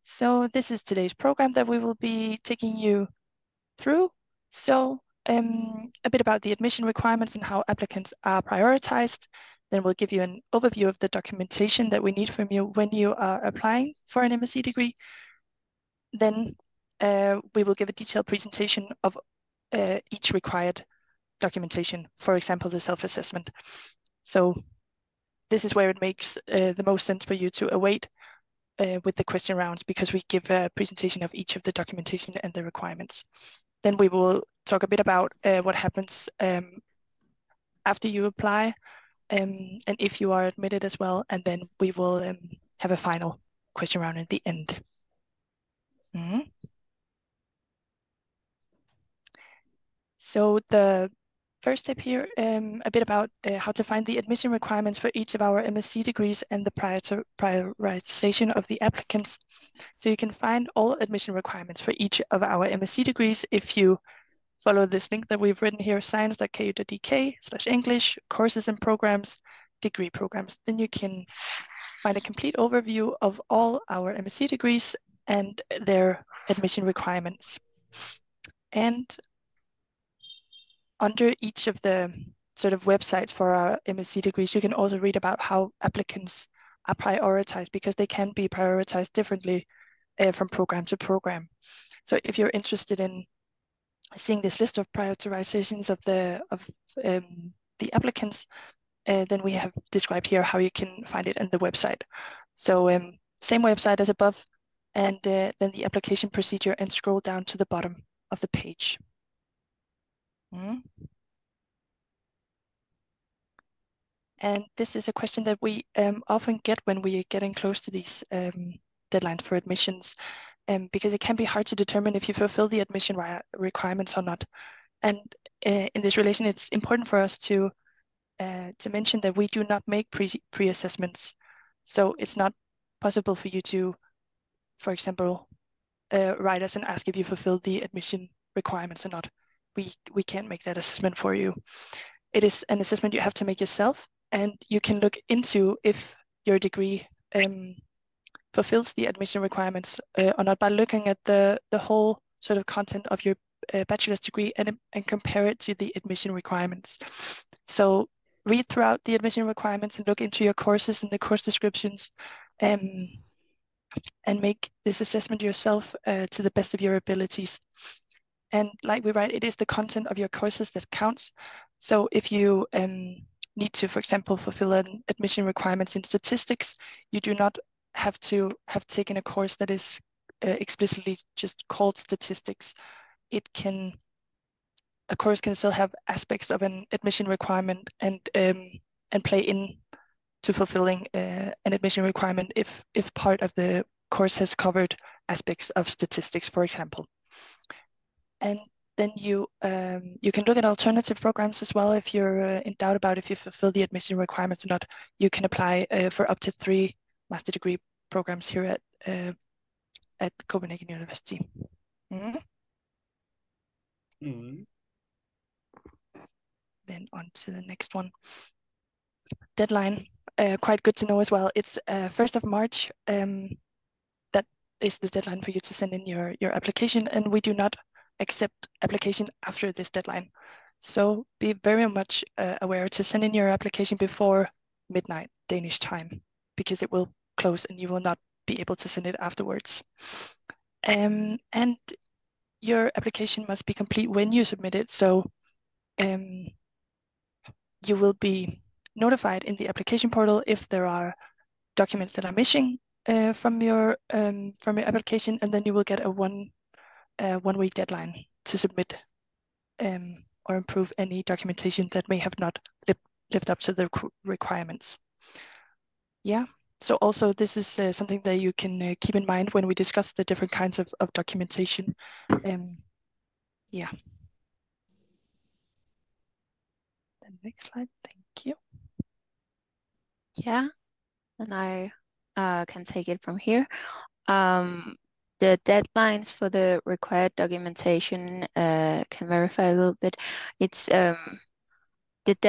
So this is today's program that we will be taking you through. So a bit about the admission requirements and how applicants are prioritized. Then we'll give you an overview of the documentation that we need from you when you are applying for an MSc degree. Then we will give a detailed presentation of each required documentation, for example, the self-assessment. So this is where it makes the most sense for you to await with the question rounds, because we give a presentation of each of the documentation and the requirements. Then we will talk a bit about what happens after you apply and if you are admitted as well. And then we will have a final question round at the end. So the first step here, a bit about how to find the admission requirements for each of our MSc degrees and the prioritization of the applicants. So you can find all admission requirements for each of our MSc degrees if you follow this link that we've written here, science.ku.dk/English, courses and programs, degree programs. Then you can find a complete overview of all our MSc degrees and their admission requirements. And under each of the sort of websites for our MSc degrees, you can also read about how applicants are prioritized, because they can be prioritized differently from program to program. So if you're interested in seeing this list of prioritizations of the applicants, then we have described here how you can find it on the website. So same website as above, and then the application procedure, and scroll down to the bottom of the page. And this is a question that we often get when we are getting close to these deadlines for admissions, because it can be hard to determine if you fulfill the admission requirements or not. And in this relation, it's important for us to mention that we do not make pre-assessments. So it's not possible for you to, for example, write us and ask if you fulfill the admission requirements or not. We can't make that assessment for you. It is an assessment you have to make yourself, and you can look into if your degree fulfills the admission requirements or not by looking at the whole sort of content of your bachelor's degree and compare it to the admission requirements. So read throughout the admission requirements and look into your courses and the course descriptions, and make this assessment yourself to the best of your abilities. And like we write, it is the content of your courses that counts. So if you need to, for example, fulfill an admission requirements in statistics, you do not have to have taken a course that is explicitly just called statistics. A course can still have aspects of an admission requirement and play in to fulfilling an admission requirement if part of the course has covered aspects of statistics, for example. And then you can look at alternative programs as well if you're in doubt about if you fulfill the admission requirements or not. You can apply for up to 3 master degree programs here at Copenhagen University. Then on to the next one. Deadline, quite good to know as well. It's 1st of March. That is the deadline for you to send in your application, and we do not accept application after this deadline. So be very much aware to send in your application before midnight Danish time, because it will close and you will not be able to send it afterwards. And your application must be complete when you submit it. So you will be notified in the application portal if there are documents that are missing from your application, and then you will get a one week deadline to submit or improve any documentation that may have not lived up to the requirements. Yeah. So also this is something that you can keep in mind when we discuss the different kinds of documentation. Yeah. The next slide, thank you. Yeah, and I can take it from here. The deadlines for the required documentation can verify a little bit. It's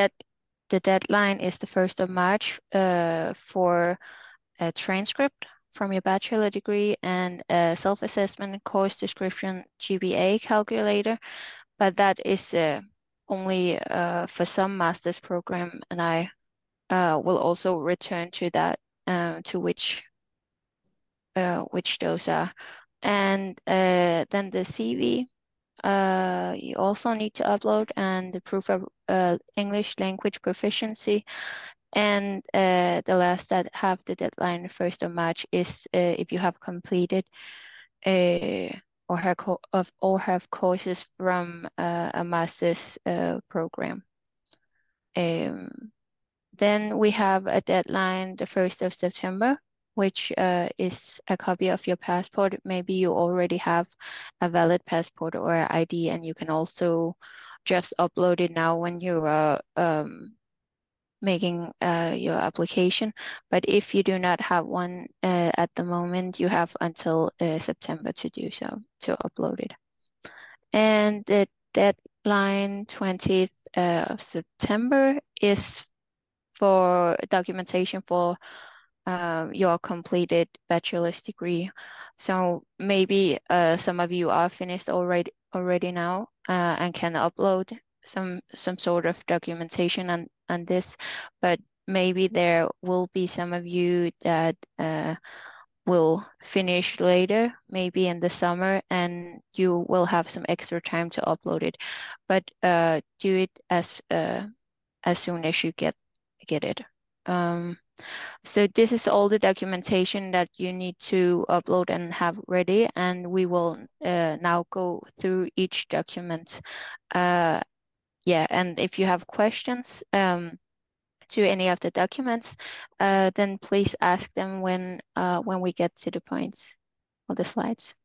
the deadline is the 1st of March for a transcript. from your bachelor degree and a self-assessment course description GPA calculator, but that is only for some master's program, and I will also return to that, to which those are. And then the CV, you also need to upload, and the proof of English language proficiency. And the last that have the deadline 1st of March is if you have completed or have courses from a master's program. Then we have a deadline the 1st of September, which is a copy of your passport. Maybe you already have a valid passport or ID, and you can also just upload it now when you are making your application. But if you do not have one at the moment, you have until September to do so, to upload it. And the deadline 20th of September is for documentation for your completed bachelor's degree. So maybe some of you are finished already now and can upload some sort of documentation on this, but maybe there will be some of you that will finish later, maybe in the summer, and you will have some extra time to upload it. But do it as soon as you get it. So this is all the documentation that you need to upload and have ready, and we will now go through each document. Yeah, and if you have questions to any of the documents, then please ask them when we get to the points or the slides.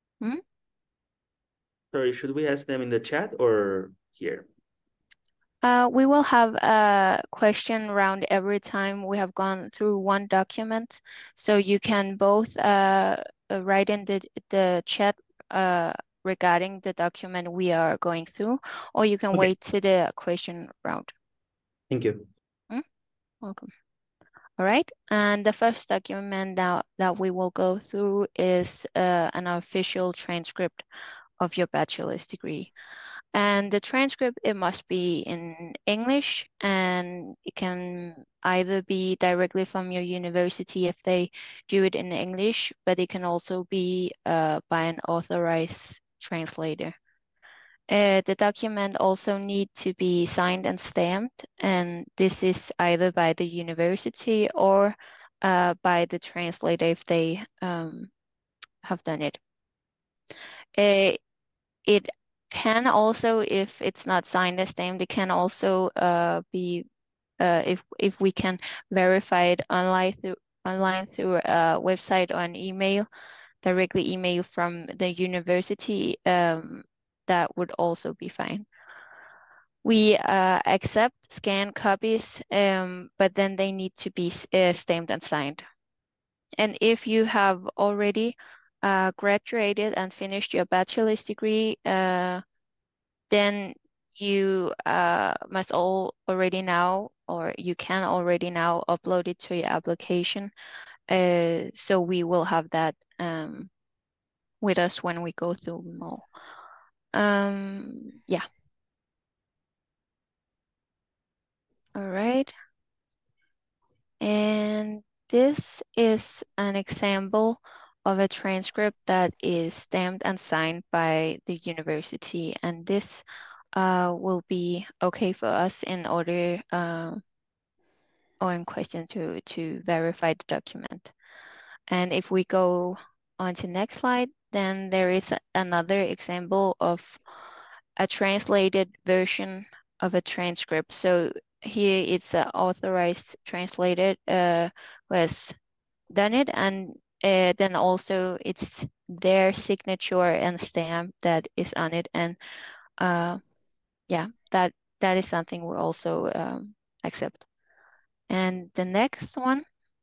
Sorry, should we ask them in the chat or here? We will have a question round every time we have gone through one document. So you can both write in the chat regarding the document we are going through, or you can wait to the question round. Thank you. Welcome. All right, and the first document that we will go through is an official transcript of your bachelor's degree. And the transcript, it must be in English, and it can either be directly from your university if they do it in English, but it can also be by an authorized translator. The document also need to be signed and stamped, and this is either by the university or by the translator if they have done it. It can also, if it's not signed and stamped, it can also be if we can verify it online through a website or an email, directly email from the university, that would also be fine. We accept scanned copies, but then they need to be stamped and signed. And if you have already graduated and finished your bachelor's degree, then you must already now, or you can already now upload it to your application. So we will have that with us when we go through them all. Yeah. All right. And this is an example of a transcript that is stamped and signed by the university, and this will be okay for us in order or in question to verify the document. And if we go on to next slide, then there is another example of a translated version of a transcript. So here it's an authorized translator who has done it, and then also it's their signature and stamp that is on it. And yeah, that is something we also accept. And the next one,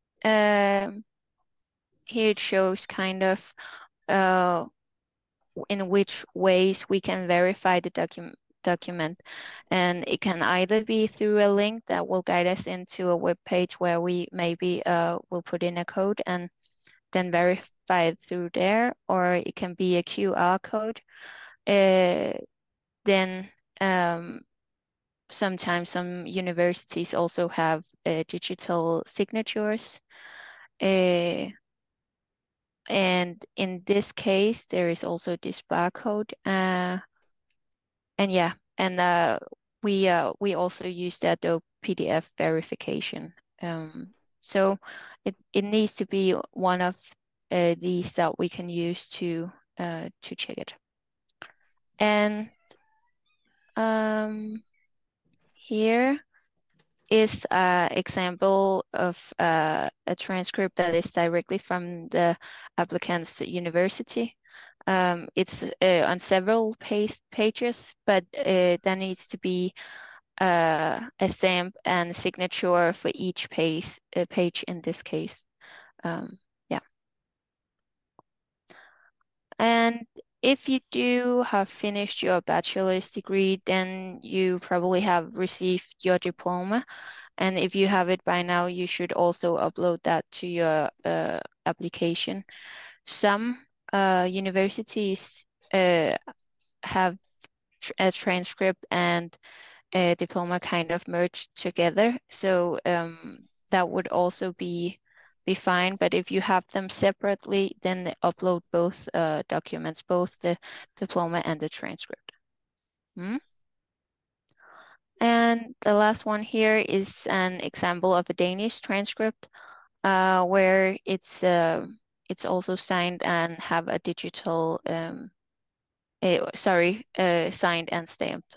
here it shows kind of in which ways we can verify the document. And it can either be through a link that will guide us into a web page where we maybe will put in a code, and then verify it through there, or it can be a QR code. Then sometimes some universities also have digital signatures. And in this case, there is also this barcode. And yeah, and we also use the Adobe PDF verification. So it needs to be one of these that we can use to check it. And here is an example of a transcript that is directly from the applicant's university. It's on several pages, but there needs to be a stamp and signature for each page in this case. Yeah. And if you do have finished your bachelor's degree, then you probably have received your diploma. And if you have it by now, you should also upload that to your application. Some universities have a transcript and a diploma kind of merged together. So that would also be fine. But if you have them separately, then upload both documents, both the diploma and the transcript. And the last one here is an example of a Danish transcript where it's also signed and have a digital, signed and stamped.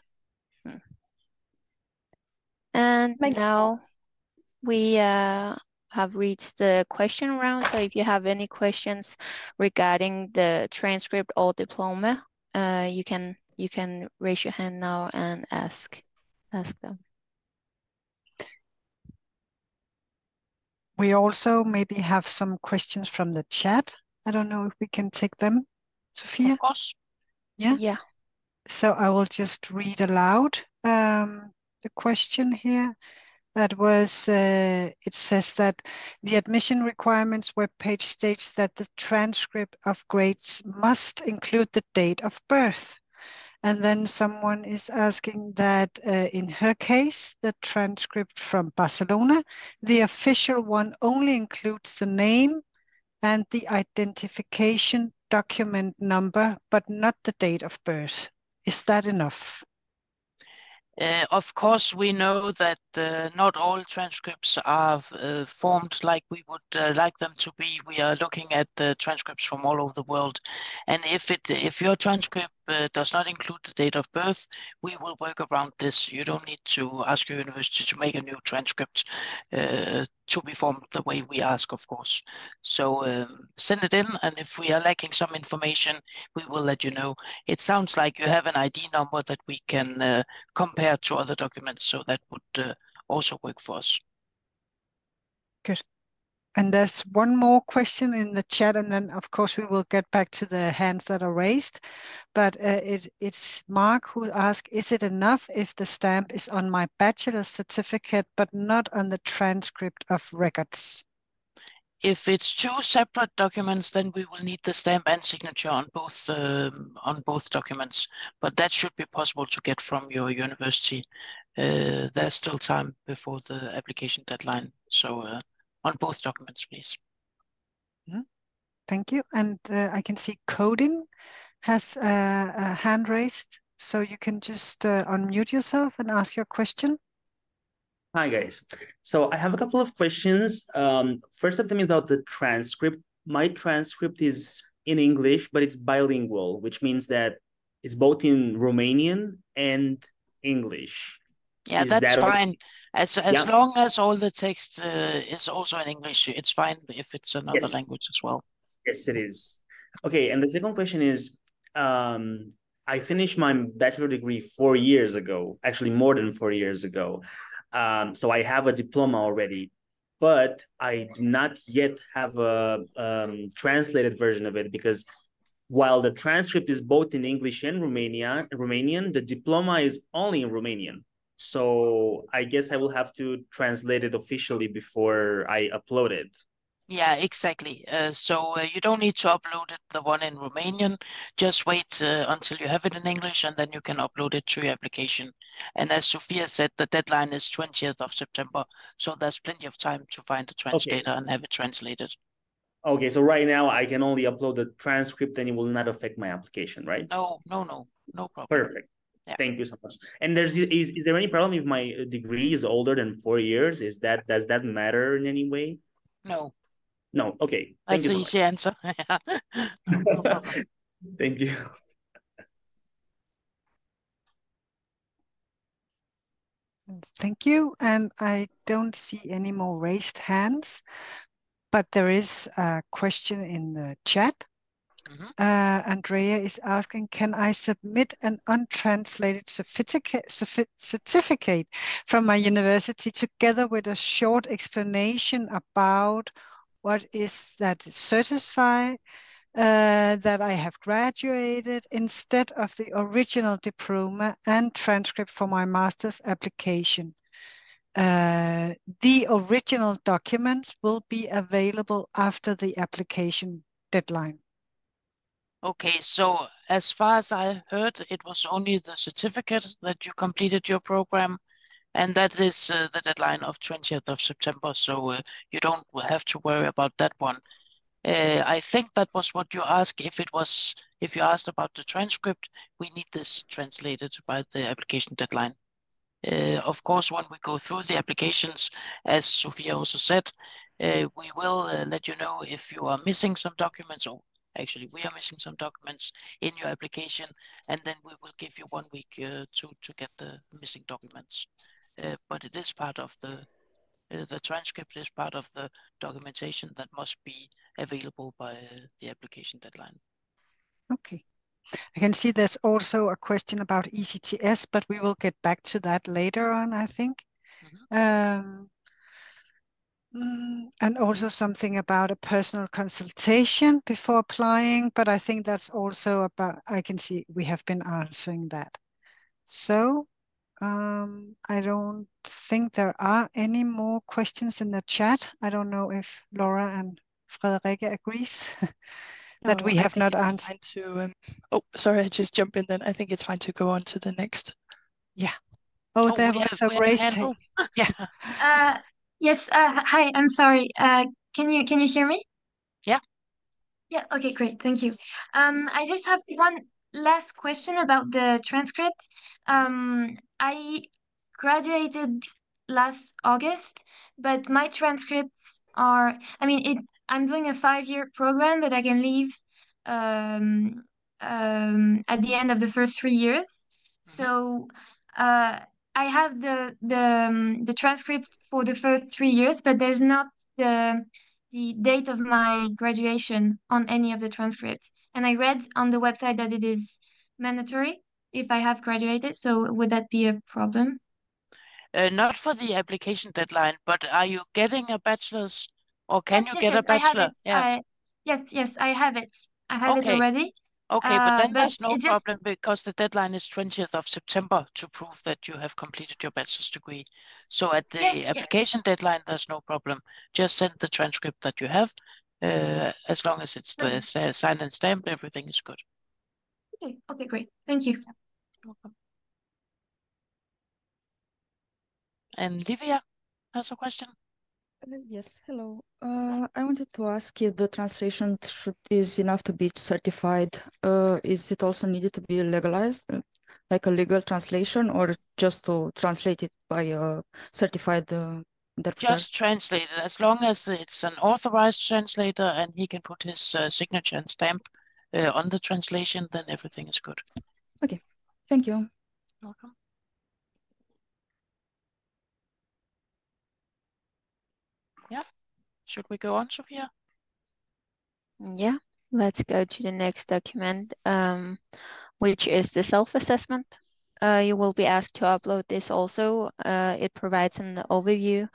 And now we have reached the question round. So if you have any questions regarding the transcript or diploma, you can raise your hand now and ask them. We also maybe have some questions from the chat. I don't know if we can take them, Sophia. Of course. Yeah. Yeah. So I will just read aloud the question here. That was, it says that the admission requirements webpage states that the transcript of grades must include the date of birth. And then someone is asking that in her case, the transcript from Barcelona, the official one only includes the name and the identification document number, but not the date of birth. Is that enough? Of course, we know that not all transcripts are formed like we would like them to be. We are looking at transcripts from all over the world, and if your transcript does not include the date of birth, we will work around this. You don't need to ask your university to make a new transcript to be formed the way we ask, of course. So send it in, and if we are lacking some information, we will let you know. It sounds like you have an ID number that we can compare to other documents, so that would also work for us. Good. And there's one more question in the chat, and then of course we will get back to the hands that are raised. But it's Mark who asked, is it enough if the stamp is on my bachelor's certificate, but not on the transcript of records? If it's two separate documents, then we will need the stamp and signature on both documents. But that should be possible to get from your university. There's still time before the application deadline. So on both documents, please. Thank you. And I can see Codin has a hand raised. So you can just unmute yourself and ask your question. Hi, guys. So I have a couple of questions. First of them is about the transcript. My transcript is in English, but it's bilingual, which means that it's both in Romanian and English. Yeah, that's fine. As long as all the text is also in English, it's fine if it's another language as well. Yes, it is. Okay, and the second question is, I finished my bachelor degree 4 years ago, actually more than 4 years ago. So I have a diploma already, but I do not yet have a translated version of it, because while the transcript is both in English and Romanian, the diploma is only in Romanian. So I guess I will have to translate it officially before I upload it. Yeah, exactly. So you don't need to upload it, the one in Romanian. Just wait until you have it in English, and then you can upload it to your application. And as Sophia said, the deadline is 20th of September, so there's plenty of time to find a translator and have it translated. Okay, so right now I can only upload the transcript and it will not affect my application, right? No problem. Perfect. Yeah. Thank you so much. And is there any problem if my degree is older than 4 years? Does that matter in any way? No. No. Okay. Thank That's you so an easy answer. No problem. Thank you. Thank you. And I don't see any more raised hands, but there is a question in the chat. Andrea is asking, can I submit an untranslated certificate from my university together with a short explanation about what is that certify that I have graduated instead of the original diploma and transcript for my master's application? The original documents will be available after the application deadline. Okay, so as far as I heard, it was only the certificate that you completed your program, and that is the deadline of 20th of September, so you don't have to worry about that one. I think that was what you asked. If you asked about the transcript, we need this translated by the application deadline. Of course, when we go through the applications, as Sophia also said, we will let you know if you are missing some documents, or actually we are missing some documents in your application, and then we will give you 1 week to get the missing documents. But it is part of the transcript is part of the documentation that must be available by the application deadline. Okay. I can see there's also a question about ECTS, but we will get back to that later on, I think. And also something about a personal consultation before applying, but I think that's also about, I can see we have been answering that. So I don't think there are any more questions in the chat. I don't know if Laura and Frederikke agrees that we have not answered. Oh, sorry, I just jumped in then. I think it's fine to go on to the next. Yeah. Oh, there was a raised hand. Yeah. Yes. Hi. I'm sorry. Can you hear me? Yeah. Yeah. Okay. Great. Thank you. I just have one last question about the transcript. I graduated last August, but my transcripts are. I mean, I'm doing a 5-year program, but I can leave at the end of the first 3 years. So I have the transcripts for the first 3 years, but there's not the date of my graduation on any of the transcripts. And I read on the website that it is mandatory if I have graduated. So would that be a problem? Not for the application deadline, but are you getting a bachelor's, or can you get a I have bachelor? it. Yeah. Yes, I have it. I have it already. Okay, but then there's no it's just problem because the deadline is 20th of September to prove that you have completed your bachelor's degree. So at the application deadline, there's no problem. Just send the transcript that you have. As long as it's signed and stamped, everything is good. Okay, great. Thank you. Welcome. And Livia has a question. Yes, hello. I wanted to ask if the translation is enough to be certified. Is it also needed to be legalized, like a legal translation, or just to translate it by a certified interpreter? Just translate it. As long as it's an authorized translator and he can put his signature and stamp on the translation, then everything is good. Okay, thank you. Welcome. Yeah. Should we go on, Sophia? Yeah, let's go to the next document, which is the self-assessment. You will be asked to upload this also. It provides an overview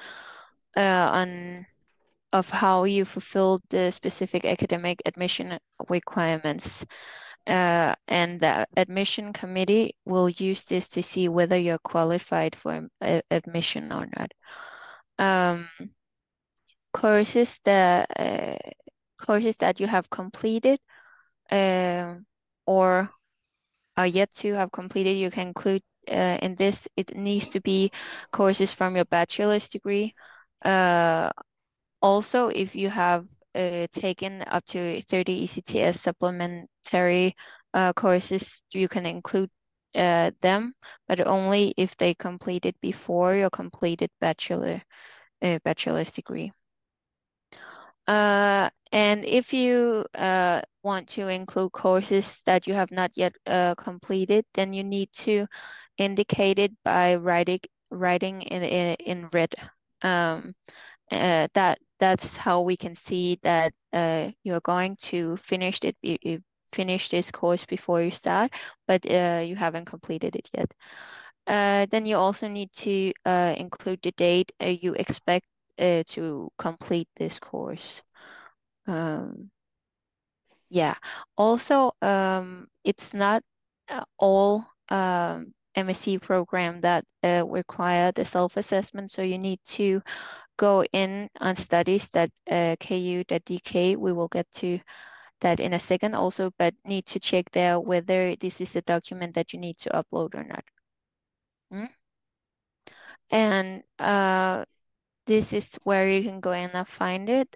of how you fulfilled the specific academic admission requirements. And the admission committee will use this to see whether you're qualified for admission or not. courses that you have completed or are yet to have completed, you can include in this. It needs to be courses from your bachelor's degree. Also, if you have taken up to 30 ECTS supplementary courses, you can include them, but only if they completed before your completed bachelor's degree. And if you want to include courses that you have not yet completed, then you need to indicate it by writing in red. That's how we can see that you're going to finish this course before you start, but you haven't completed it yet. Then you also need to include the date you expect to complete this course. Yeah. Also, it's not all MSc program that require the self-assessment, so you need to go in on studies that KU.dk. We will get to that in a second also, but need to check there whether this is a document that you need to upload or not. And this is where you can go in and find it.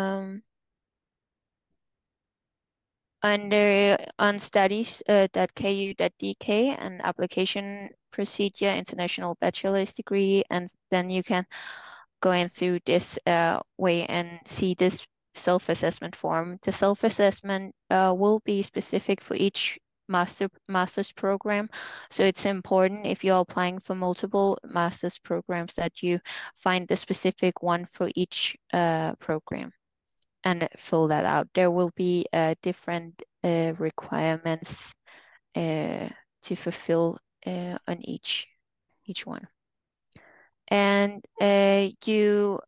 On studies.ku.dk and application procedure, international bachelor's degree, and then you can go in through this way and see this self-assessment form. The self-assessment will be specific for each master's program, so it's important if you're applying for multiple master's programs that you find the specific one for each program and fill that out. There will be different requirements to fulfill on each one. And you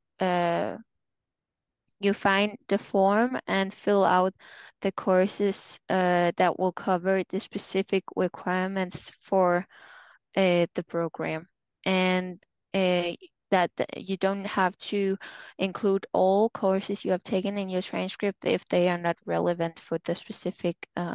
find the form and fill out the courses that will cover the specific requirements for the program. And that you don't have to include all courses you have taken in your transcript if they are not relevant for the specific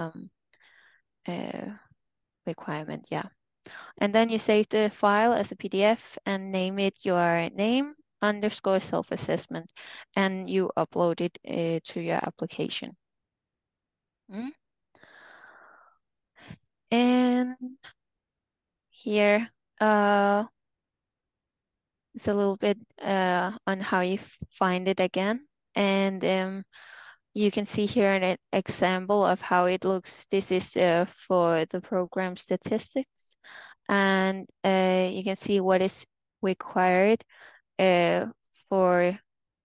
requirement. Yeah. And then you save the file as a PDF and name it your name _ self-assessment, and you upload it to your application. And here it's a little bit on how you find it again. And you can see here an example of how it looks. This is for the program statistics. And you can see what is required for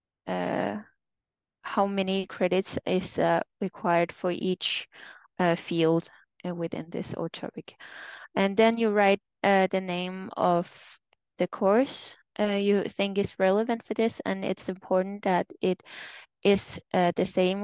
how many credits is required for each field within this topic. And then you write the name of the course you think is relevant for this, and it's important that it is the same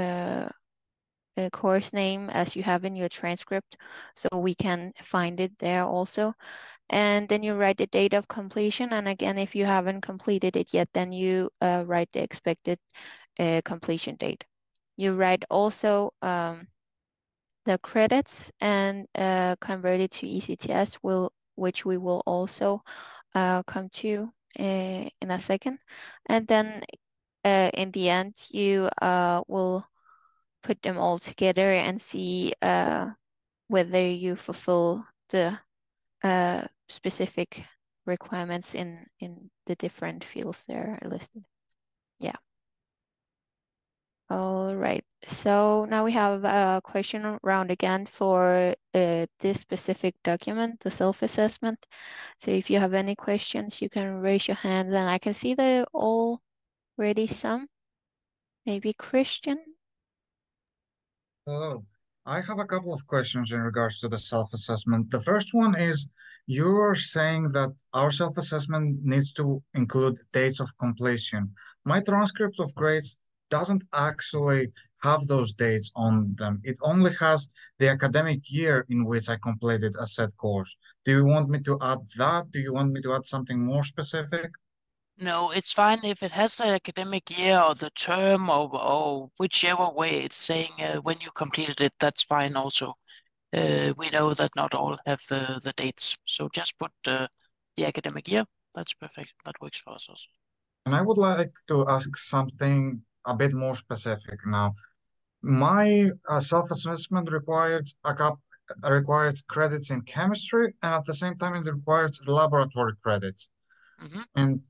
course name as you have in your transcript, so we can find it there also. And then you write the date of completion, and again, if you haven't completed it yet, then you write the expected completion date. You write also the credits and convert it to ECTS, which we will also come to in a second. And then in the end, you will put them all together and see whether you fulfill the specific requirements in the different fields there are listed. Yeah. All right, so now we have a question round again for this specific document, the self-assessment. So if you have any questions, you can raise your hand, and I can see there are already some. Maybe Christian? Hello. I have a couple of questions in regards to the self-assessment. The first one is, you're saying that our self-assessment needs to include dates of completion. My transcript of grades doesn't actually have those dates on them. It only has the academic year in which I completed a said course. Do you want me to add that? Do you want me to add something more specific? No, it's fine if it has an academic year or the term or whichever way it's saying when you completed it, that's fine also. We know that not all have the dates, so just put the academic year. That's perfect. That works for us also. And I would like to ask something a bit more specific now. My self-assessment required credits in chemistry, and at the same time it requires laboratory credits. Mhm. And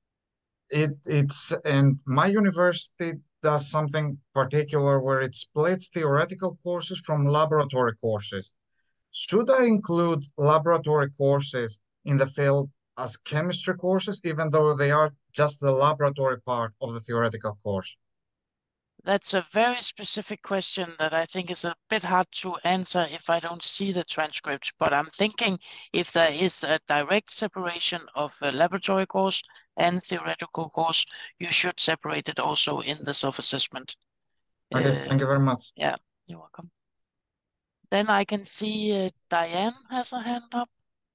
and my university does something particular where it splits theoretical courses from laboratory courses. Should I include laboratory courses in the field as chemistry courses, even though they are just the laboratory part of the theoretical course? That's a very specific question that I think is a bit hard to answer if I don't see the transcript. But I'm thinking if there is a direct separation of a laboratory course and theoretical course, you should separate it also in the self-assessment. Okay, thank you very much. Yeah, you're welcome. Then I can see Diane has her hand up.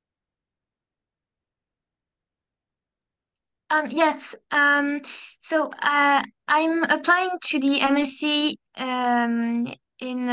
Yes. So I'm applying to the MSc in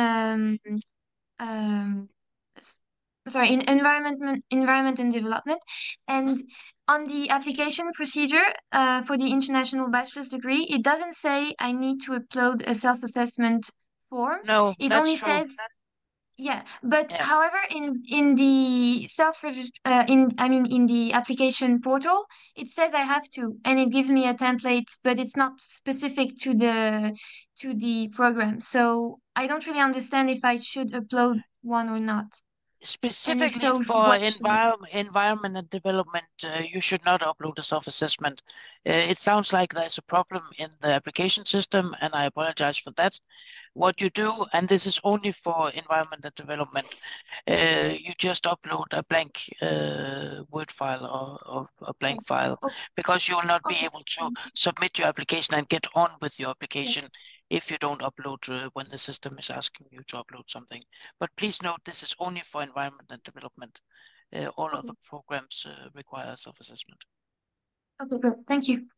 sorry, in environment and development, and on the application procedure for the international bachelor's degree, it doesn't say I need to upload a self-assessment form. No, It that's only true. says. Yeah, but Yeah. however, in the in the application portal, it says I have to, and it gives me a template, but it's not specific to the program. So I don't really understand if I should upload one or not. And if Specifically so, for what should I? environment and development, you should not upload a self-assessment. It sounds like there's a problem in the application system, and I apologize for that. What you do, and this is only for environment and development, you just upload a blank Word file or a blank file, Oh, because you will not be okay. able to submit your application and get on with your application Yes. if you don't upload when the system is asking you to upload something. But please note, this is only for environment and development. All other programs require self-assessment. Okay, good. Thank you.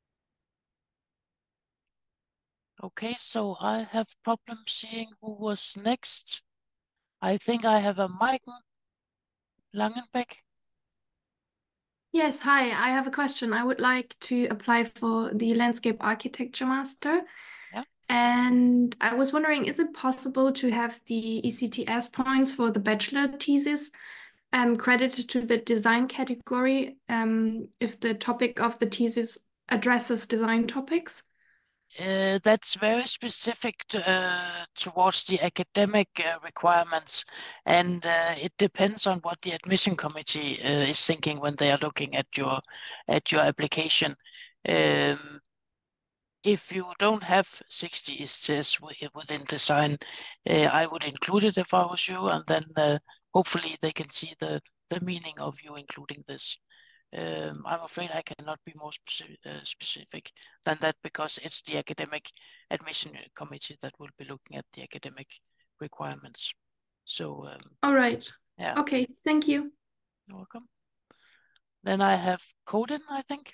Okay, so I have problems seeing who was next. I think I have a Maiken Langenbeck. Yes, hi. I have a question. I would like to apply for the Landscape Architecture Master. Yeah. And I was wondering, is it possible to have the ECTS points for the bachelor thesis credited to the design category if the topic of the thesis addresses design topics? That's very specific towards the academic requirements, and it depends on what the admission committee is thinking when they are looking at your application. If you don't have 60 ECTS within design, I would include it if I was you, and then hopefully they can see the meaning of you including this. I'm afraid I cannot be more specific than that, because it's the academic admission committee that will be looking at the academic requirements. So all right. Yeah. Okay, thank you. You're welcome. Then I have Coden, I think.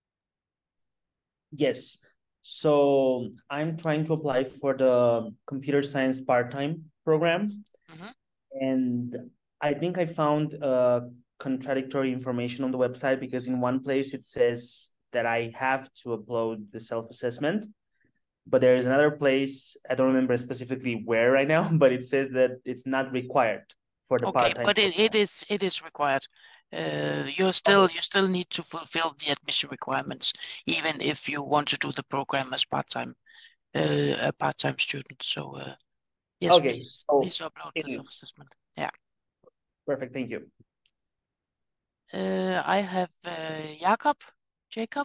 Yes. So I'm trying to apply for the computer science part-time program. And I think I found contradictory information on the website, because in one place it says that I have to upload the self-assessment, but there is another place, I don't remember specifically where right now, but it says that it's not required for the part-time. But it is required. You still need to fulfill the admission requirements, even if you want to do the program as a part-time student. So yes, okay, please upload the self-assessment. Yeah. Perfect, thank you. I have Jacob.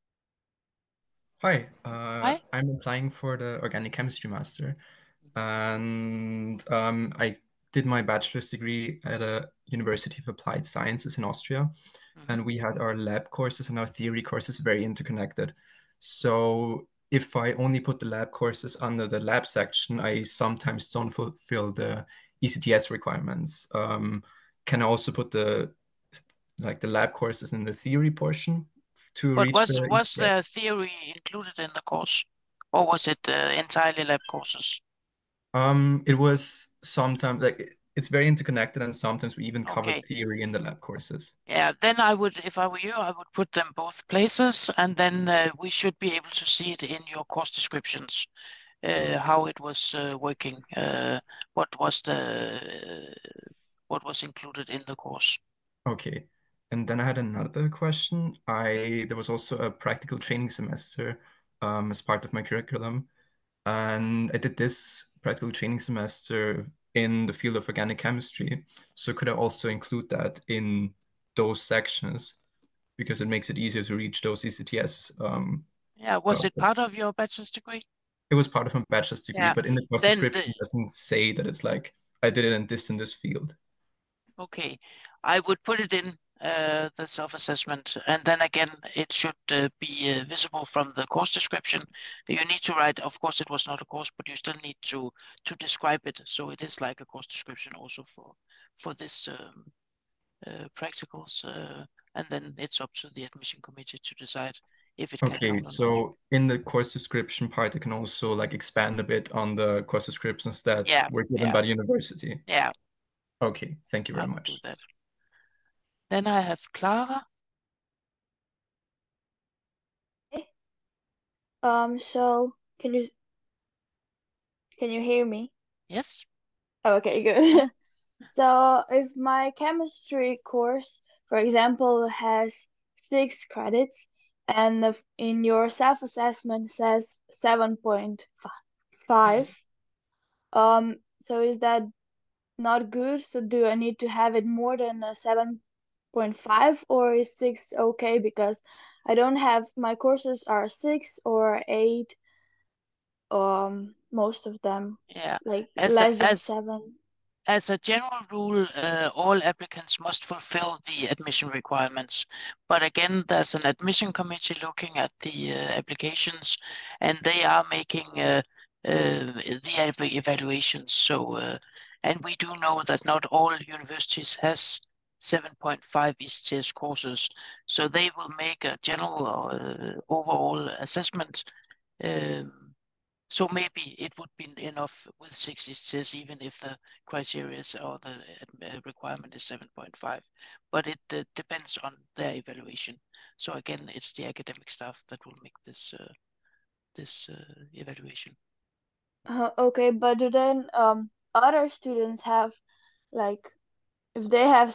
Hi, Hi. I'm applying for the Organic Chemistry Master, and I did my bachelor's degree at a University of Applied Sciences in Austria, and we had our lab courses and our theory courses very interconnected. So if I only put the lab courses under the lab section, I sometimes don't fulfill the ECTS requirements. Can I also put the lab courses in the theory portion to But reach the was the theory included in the course, or was it entirely lab courses? It was sometimes like it's very interconnected, and sometimes we even covered Okay. theory in the lab courses. Yeah, then I would, if I were you, I would put them both places, and then we should be able to see it in your course descriptions, how it was working, what was included in the course. Okay. And then I had another question. There was also a practical training semester as part of my curriculum. And I did this practical training semester in the field of organic chemistry. So could I also include that in those sections? Because it makes it easier to reach those ECTS. Yeah, was it part of your bachelor's degree? It was part of my bachelor's degree, Yeah. but in the course Then description, it doesn't say that it's like I did it in this field. Okay, I would put it in the self-assessment, and then again, it should be visible from the course description. You need to write, of course, it was not a course, but you still need to describe it, so it is like a course description also for this practicals, and then it's up to the admission committee to decide if it can Okay, count or not. so in the course description part, I can also like expand a bit on the course descriptions that were given by the university. Yeah. Okay, thank you very I will much. do that. Then I have Clara. So can you hear me? Yes. Okay, good. So if my chemistry course, for example, has 6 credits and in your self-assessment says 7.5, so is that not good? So do I need to have it more than a 7.5, or is 6 okay? Because I don't have, my courses are 6 or 8, most of them, like less than 7. As a general rule, all applicants must fulfill the admission requirements. But again, there's an admission committee looking at the applications, and they are making the evaluations. So, and we do know that not all universities has 7.5 ECTS courses. So they will make a general overall assessment. So maybe it would be enough with 6 ECTS, even if the criteria or the requirement is 7.5. But it depends on their evaluation. So again, it's the academic staff that will make this evaluation. Okay, but do then other students have, like, if they have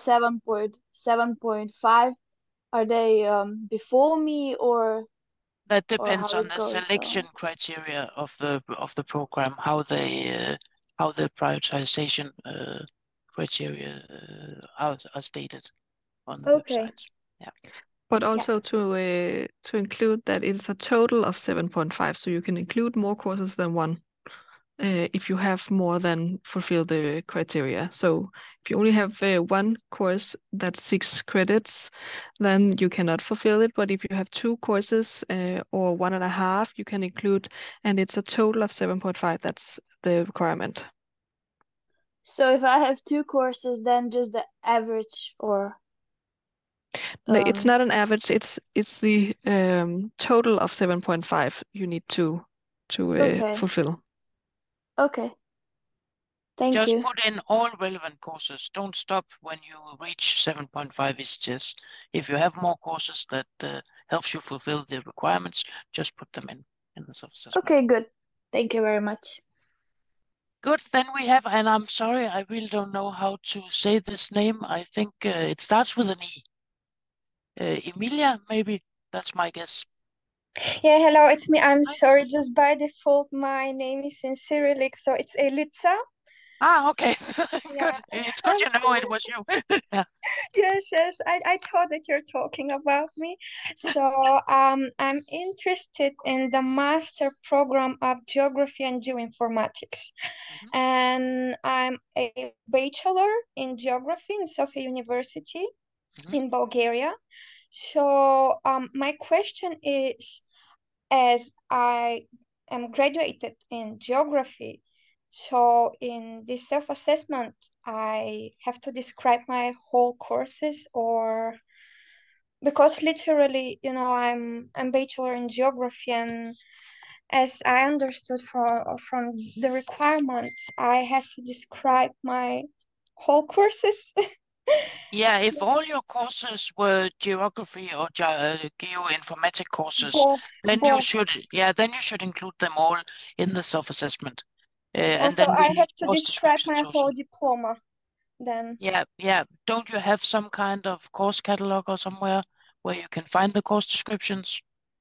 7.5, are they before me, or that depends how on it the goes? selection criteria of the program, how the prioritization criteria are stated on the website. Yeah. But also to include that it's a total of 7.5, so you can include more courses than one if you have more than fulfill the criteria. So if you only have one course that's 6 credits, then you cannot fulfill it. But if you have 2 courses or 1.5, you can include, and it's a total of 7.5. That's the requirement. So if I have 2 courses, then just the average, or no, it's not an average. It's the total of 7.5 you need to fulfill. Okay. Thank Just you. put in all relevant courses. Don't stop when you reach 7.5 ECTS. If you have more courses that helps you fulfill the requirements, just put them in the self-assessment. Okay, good. Thank you very much. Good. Then we have, and I'm sorry, I really don't know how to say this name. I think it starts with an E. Emilia, maybe. That's my guess. Yeah, hello, it's me. I'm sorry, just by default, my name is in Cyrillic, so it's Elitsa. Ah, okay. Good. It's good you know it was you. Yeah. Yes, I thought that you're talking about me. So I'm interested in the master program of geography and geoinformatics. And I'm a bachelor in geography in Sofia University in Bulgaria. So my question is, as I am graduated in geography, so in this self-assessment, I have to describe my whole courses, or because literally, I'm bachelor in geography, and as I understood from the requirements, I have to describe my whole courses. Yeah, if all your courses were geography or geoinformatic courses, Both, then you both. should include them all in the self-assessment. And Also, then I we have to course describe descriptions my also. whole diploma then. Yeah. Don't you have some kind of course catalog or somewhere where you can find the course descriptions?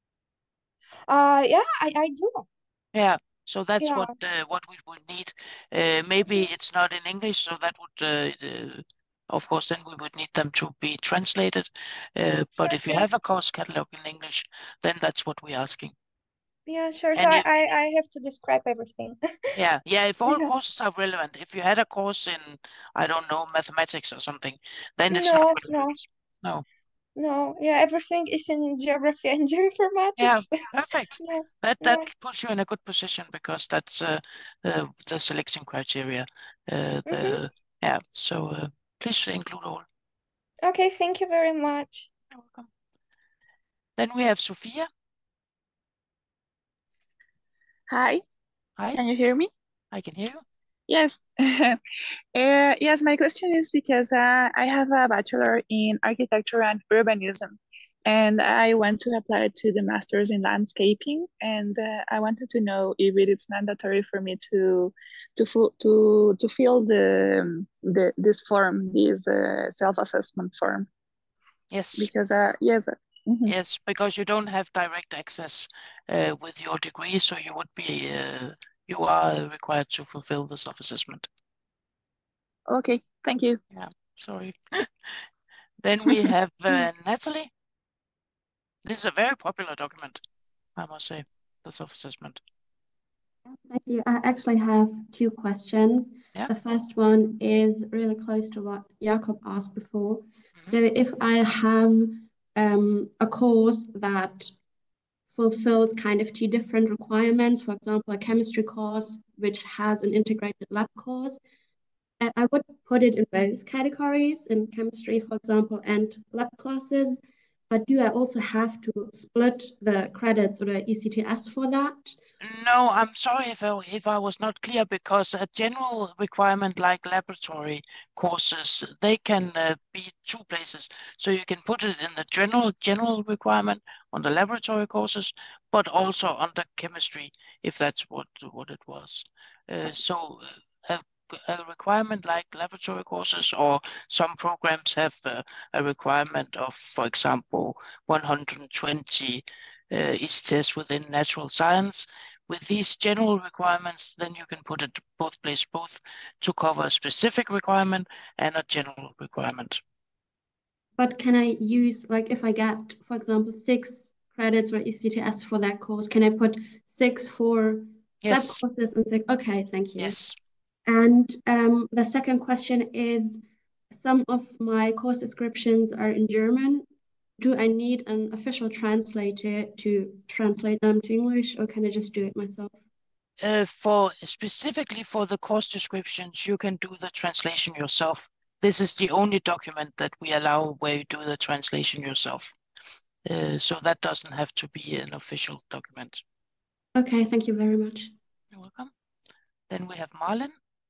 Yeah, I do. Yeah, so that's Yeah. what we would need. Maybe it's not in English, so that would, of course, then we would need them to be translated. But if you Sure. have a course catalog in English, then that's what we're asking. Yeah, sure. So And I have to describe everything. yeah, if all Yeah. courses are relevant, if you had a course in, I don't know, mathematics or something, then it's No, not no, relevant. No. no. Yeah, everything is in geography and Yeah, geoinformatics. perfect. Yeah, That yeah. puts you in a good position because that's the selection criteria. Yeah, so please include all. Okay, thank you very much. You're welcome. Then we have Sophia. Hi. Hi. Can you hear me? I can hear you. Yes. Yes, my question is because I have a bachelor in architecture and urbanism, and I want to apply to the master's in landscaping, and I wanted to know if it is mandatory for me to fill this form, this self-assessment form. Yes. Because yes. Yes, because you don't have direct access with your degree, so you would be you are required to fulfill the self-assessment. Okay, thank you. Yeah, sorry. Then we have Natalie. This is a very popular document, I must say, the self-assessment. Thank you. I actually have two questions. Yeah. The first one is really close to what Jakob asked before. So if I have a course that fulfills kind of two different requirements, for example, a chemistry course which has an integrated lab course, I would put it in both categories, in chemistry, for example, and lab classes. But do I also have to split the credits or the ECTS for that? No, I'm sorry if I was not clear, because a general requirement like laboratory courses, they can be two places. So you can put it in the general requirement on the laboratory courses, but also under chemistry, if that's what it was. So a requirement like laboratory courses, or some programs have a requirement of, for example, 120 ECTS within natural science. With these general requirements, then you can put it both to cover a specific requirement and a general requirement. But can I use, like, if I get, for example, 6 credits or ECTS for that course, can I put 6 for lab courses and 6? Okay, thank you. Yes. And the second question is, some of my course descriptions are in German. Do I need an official translator to translate them to English, or can I just do it myself? Specifically for the course descriptions, you can do the translation yourself. This is the only document that we allow where you do the translation yourself. So that doesn't have to be an official document. Okay, thank you very much. You're welcome. Then we have Marlon.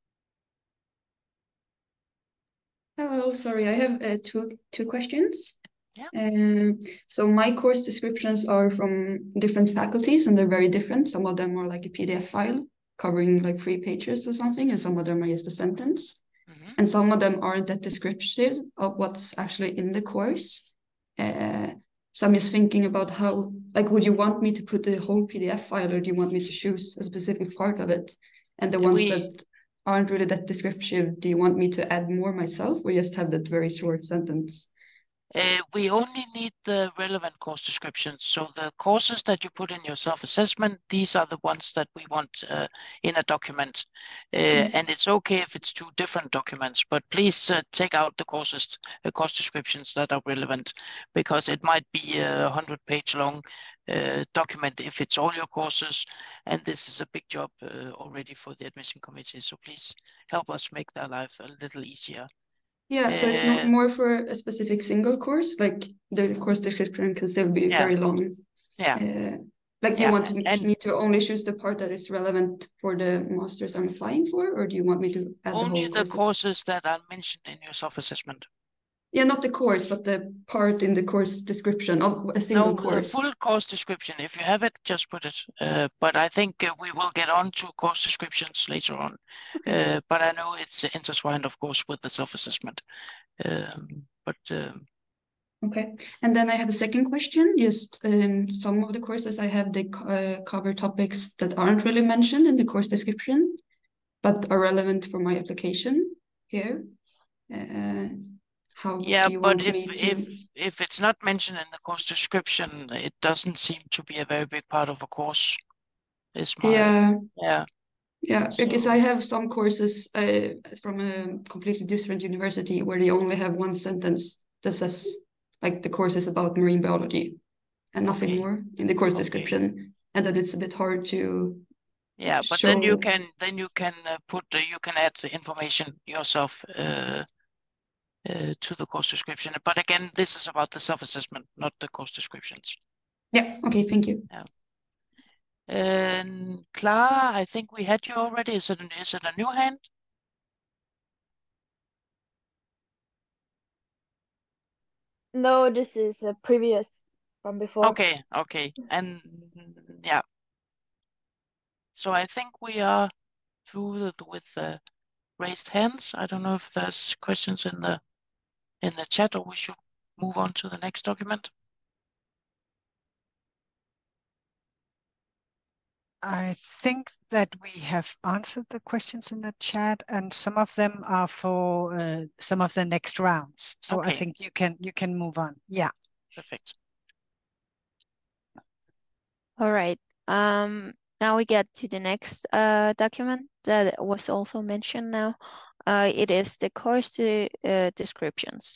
Hello, sorry, I have two questions. Yeah. So my course descriptions are from different faculties, and they're very different. Some of them are like a PDF file covering like 3 pages or something, and some of them are just a sentence. And some of them aren't that descriptive of what's actually in the course. So I'm just thinking about how, like, would you want me to put the whole PDF file, or do you want me to choose a specific part of it? And the ones that aren't really that descriptive, do you want me to add more myself, or just have that very short sentence? We only need the relevant course descriptions. So the courses that you put in your self-assessment, these are the ones that we want in a document. And it's okay if it's 2 different documents, but please take out the course descriptions that are relevant, because it might be a 100-page long document if it's all your courses. And this is a big job already for the admission committee. So please help us make their life a little easier. Yeah, so it's not more for a specific single course, like the course description can still be very long. Yeah. Like, do you want and me to only choose the part that is relevant for the masters I'm applying for, or do you want me to add the only whole the course courses that are mentioned in your self-assessment? Yeah, not the course, but the part in the course description of a single course. The full course description. If you have it, just put it. But I think we will get on to course descriptions later on. Okay. But I know it's intertwined, of course, with the self-assessment. Okay, and then I have a second question. Just some of the courses I have, they cover topics that aren't really mentioned in the course description, but are relevant for my application here. How do you want me to? If it's not mentioned in the course description, it doesn't seem to be a very big part of a course. Is my Yeah, because I have some courses from a completely different university where they only have one sentence that says like the course is about marine biology and nothing more in the course description, and that it's a bit hard to but show. then you can you can add the information yourself to the course description. But again, this is about the self-assessment, not the course descriptions. Yeah. Okay. Thank you. Yeah. And Clara, I think we had you already. Is it a new hand? No, this is a previous from before. Okay. And yeah. So I think we are through with the raised hands. I don't know if there's questions in the chat, or we should move on to the next document. I think that we have answered the questions in the chat, and some of them are for some of the next rounds. So I think you can move on. Yeah. Perfect. All right. Now we get to the next document that was also mentioned now. It is the course descriptions.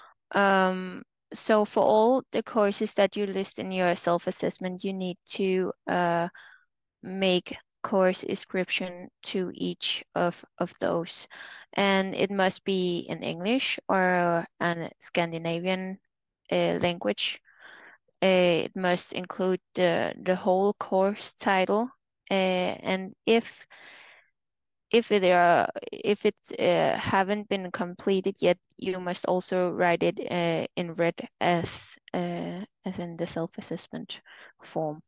So for all the courses that you list in your self-assessment, you need to make course description to each of those. And it must be in English or an Scandinavian language. It must include the whole course title, and if it haven't been completed yet, you must also write it in red as in the self-assessment form.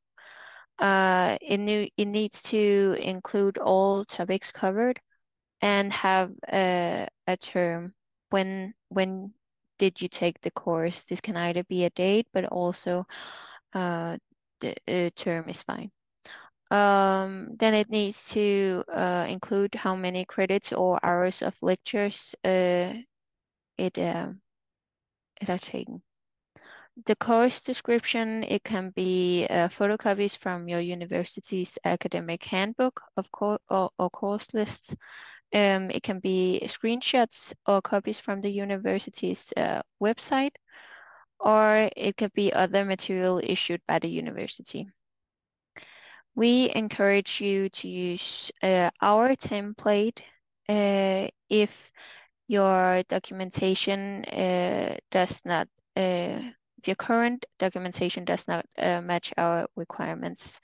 It needs to include all topics covered and have a term when did you take the course. This can either be a date, but also the term is fine. Then it needs to include how many credits or hours of lectures it has taken. The course description, it can be photocopies from your university's academic handbook of or course lists. It can be screenshots or copies from the university's website, or it could be other material issued by the university. We encourage you to use our template if your documentation does not, if your current documentation does not match our requirements.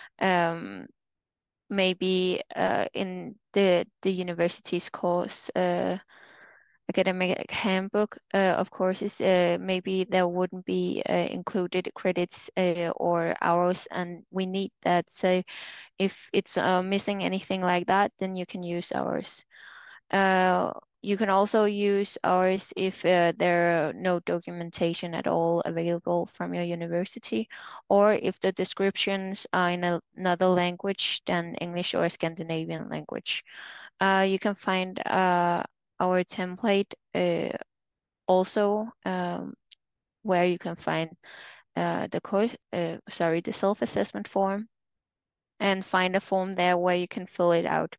Maybe in the university's course academic handbook of courses, maybe there wouldn't be included credits or hours, and we need that. So if it's missing anything like that, then you can use ours. You can also use ours if there are no documentation at all available from your university, or if the descriptions are in another language than English or Scandinavian language. You can find our template also where you can find the self-assessment form, and find a form there where you can fill it out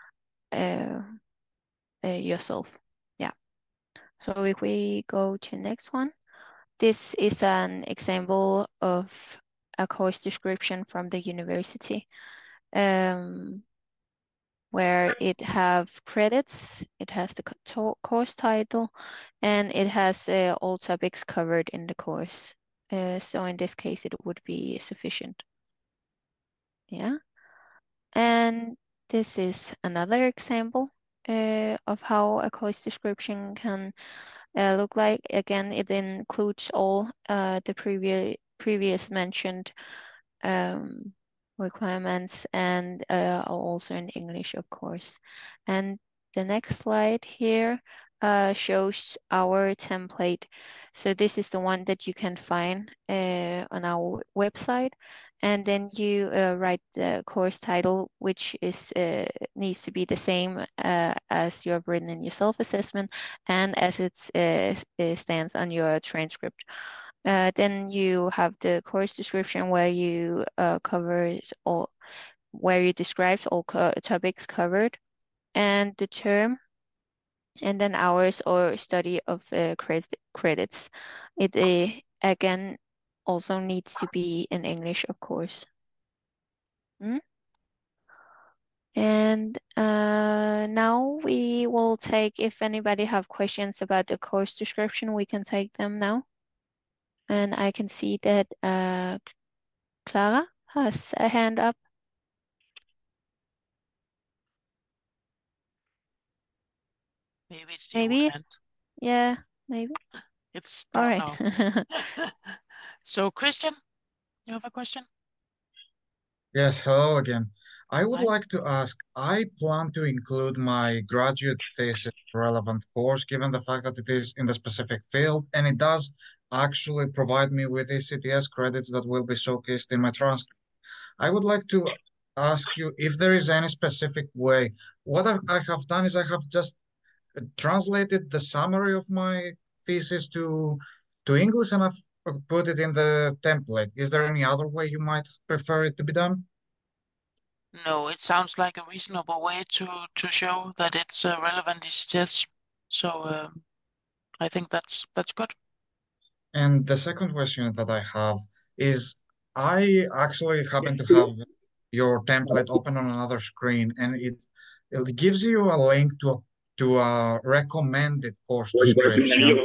yourself. Yeah. So if we go to the next one, this is an example of a course description from the university. where it have credits, it has the course title, and it has all topics covered in the course. So in this case, it would be sufficient. Yeah. And this is another example of how a course description can look like. Again, it includes all the previous mentioned requirements and also in English, of course. And the next slide here shows our template. So this is the one that you can find on our website. And then you write the course title, which is needs to be the same as you have written in your self-assessment and as it stands on your transcript. Then you have the course description where you where you describe all topics covered, and the term, and then hours or study of credits. It again also needs to be in English, of course. And now we will take, if anybody have questions about the course description, we can take them now. And I can see that Clara has a hand up. Maybe it's the old hand. Yeah, maybe. It's all down right. now. So Christian, you have a question? Yes, hello again. I would Hi. like to ask, I plan to include my graduate thesis relevant course, given the fact that it is in the specific field, and it does actually provide me with ECTS credits that will be showcased in my transcript. I would like to ask you if there is any specific way. What I have done is I have just translated the summary of my thesis to English, and I've put it in the template. Is there any other way you might prefer it to be done? No, it sounds like a reasonable way to show that it's relevant ECTS. So I think that's good. And the second question that I have is, I actually happen to have your template open on another screen, and it gives you a link to a recommended course description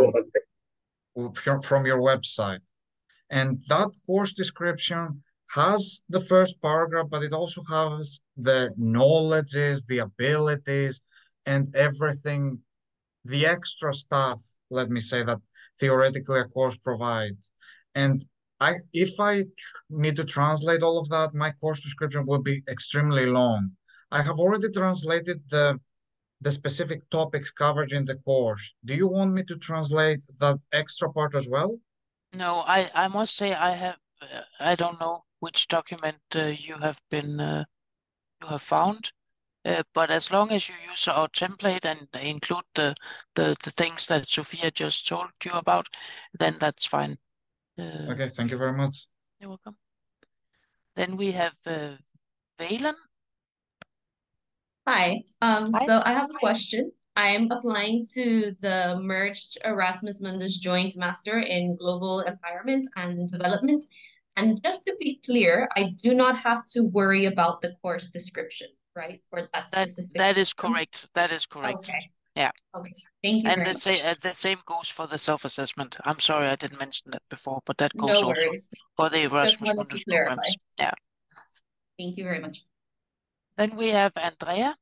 from your website. And that course description has the first paragraph, but it also has the knowledges, the abilities, and everything, the extra stuff, let me say, that theoretically a course provides. And if I need to translate all of that, my course description will be extremely long. I have already translated the specific topics covered in the course. Do you want me to translate that extra part as well? No, I must say I don't know which document you have found, but as long as you use our template and include the things that Sophia just told you about, then that's fine. Okay, thank you very much. You're welcome. Then we have Valen. Hi. So I have a question. I'm applying to the merged Erasmus Mundus Joint Master in Global Environment and Development. And just to be clear, I do not have to worry about the course description, right? Or that specific. That is correct. That is correct. Okay. Yeah. Okay. Thank you And very much. the same goes for the self-assessment. I'm sorry I didn't mention that before, but that goes No also worries. for the Just Erasmus wanted to Mundus clarify. programs. Yeah. Thank you very much. Then we have Andrea.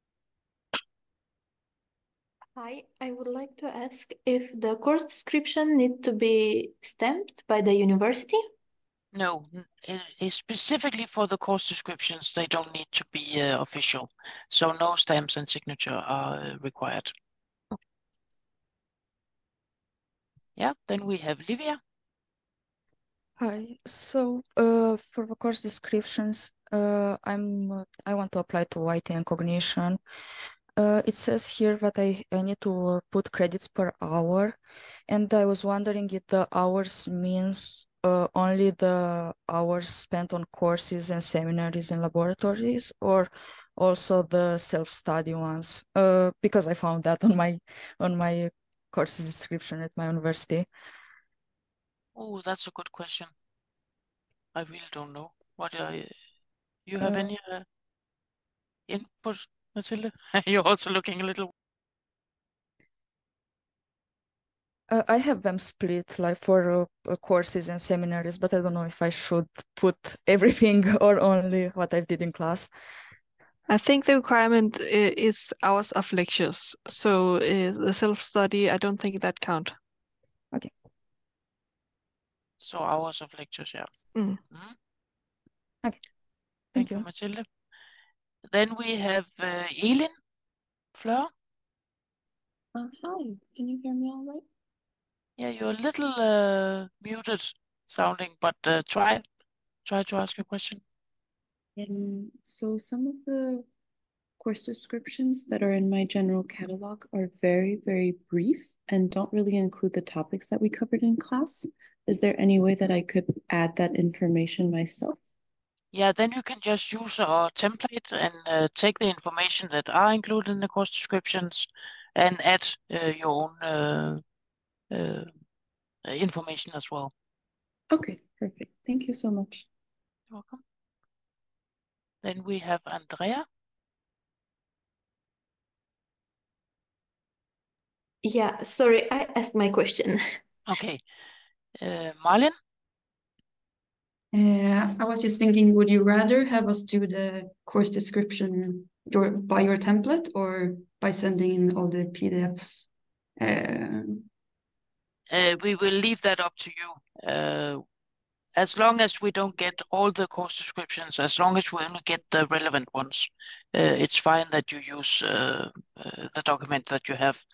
Hi, I would like to ask if the course description need to be stamped by the university? No, specifically for the course descriptions, they don't need to be official. So no stamps and signature are required. Yeah, then we have Livia. Hi. So, for the course descriptions, I want to apply to IT and cognition. It says here that I need to put credits per hour, and I was wondering if the hours means only the hours spent on courses and seminaries and laboratories, or also the self-study ones, because I found that on my course description at my university. Oh, that's a good question. I really don't know. What you have any? input, Mathilde? You're also looking a little. I have them split like for courses and seminaries, but I don't know if I should put everything or only what I did in class. I think the requirement is hours of lectures. So the self-study, I don't think that count. Okay. So hours of lectures, yeah. Mm. Mhm. Okay. Thank you, Mathilde. Then we have Elin Fleur. Hi, can you hear me all right? Yeah, you're a little muted sounding, but try to ask your question. So some of the course descriptions that are in my general catalog are very, very brief and don't really include the topics that we covered in class. Is there any way that I could add that information myself? Yeah, then you can just use our template and take the information that are included in the course descriptions and add your own information as well. Okay, perfect. Thank you so much. You're welcome. Then we have Andrea. Yeah, sorry, I asked my question. Okay. Marlin? I was just thinking, would you rather have us do the course description by your template or by sending in all the PDFs? We will leave that up to you. As long as we don't get all the course descriptions, as long as we only get the relevant ones, it's fine that you use the document that you have.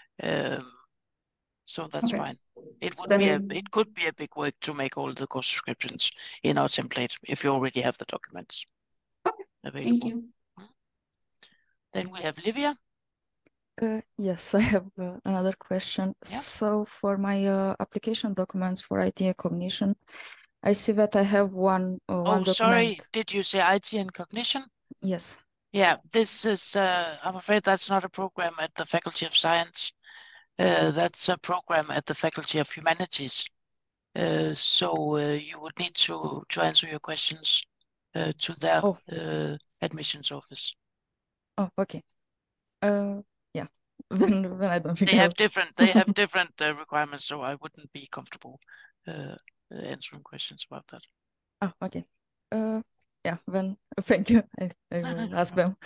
So that's Okay. fine. It would Then- it could be a big work to make all the course descriptions in our template if you already have the documents available. Thank you. Then we have Livia. Yes, I have another question. Yeah. So for my application documents for IT and cognition, I see that I have one Oh, document. sorry. Did you say IT and cognition? Yes. Yeah, this is, I'm afraid that's not a program at the Faculty of Science. That's a program at the Faculty of Humanities. So you would need to answer your questions to their admissions office. Oh, okay. Yeah. Then I don't think They I have will. different requirements, so I wouldn't be comfortable answering questions about that. Oh, okay. Yeah, then thank you. I will ask them.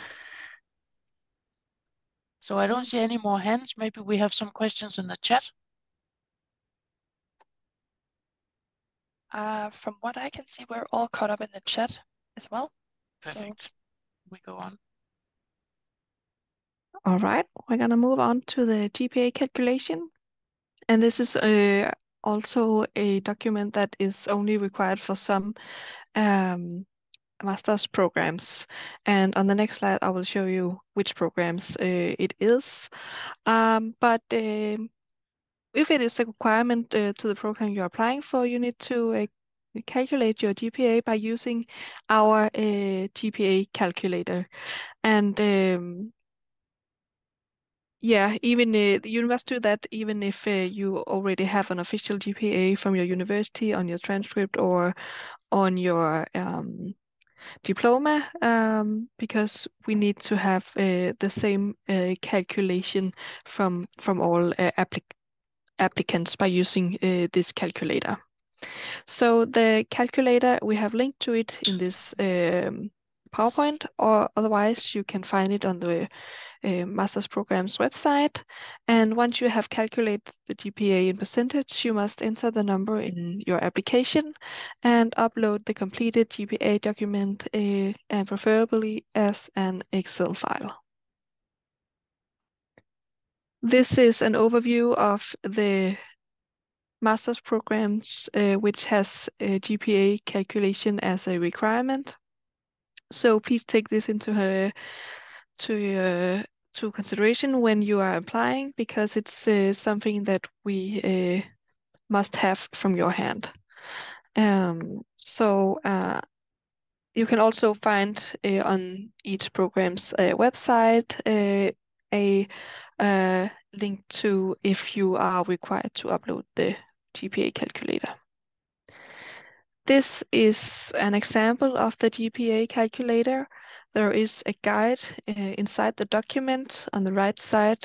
So I don't see any more hands. Maybe we have some questions in the chat. From what I can see, we're all caught up in the chat as well. Perfect. So we go on. All right, we're gonna move on to the GPA calculation. And this is also a document that is only required for some master's programs. And on the next slide, I will show you which programs it is. But if it is a requirement to the program you're applying for, you need to calculate your GPA by using our GPA calculator. And yeah, even you must do that even if you already have an official GPA from your university on your transcript or on your diploma, because we need to have the same calculation from all applicants by using this calculator. So the calculator, we have linked to it in this PowerPoint, or otherwise you can find it on the master's program's website. And once you have calculated the GPA in percentage, you must enter the number in your application and upload the completed GPA document, and preferably as an Excel file. This is an overview of the master's programs which has GPA calculation as a requirement. So please take this into consideration when you are applying, because it's something that we must have from your hand. You can also find on each program's website a link to if you are required to upload the GPA calculator. This is an example of the GPA calculator. there is a guide inside the document on the right side,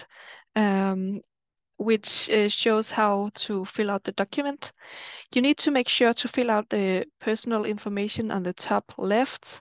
which shows how to fill out the document. You need to make sure to fill out the personal information on the top left,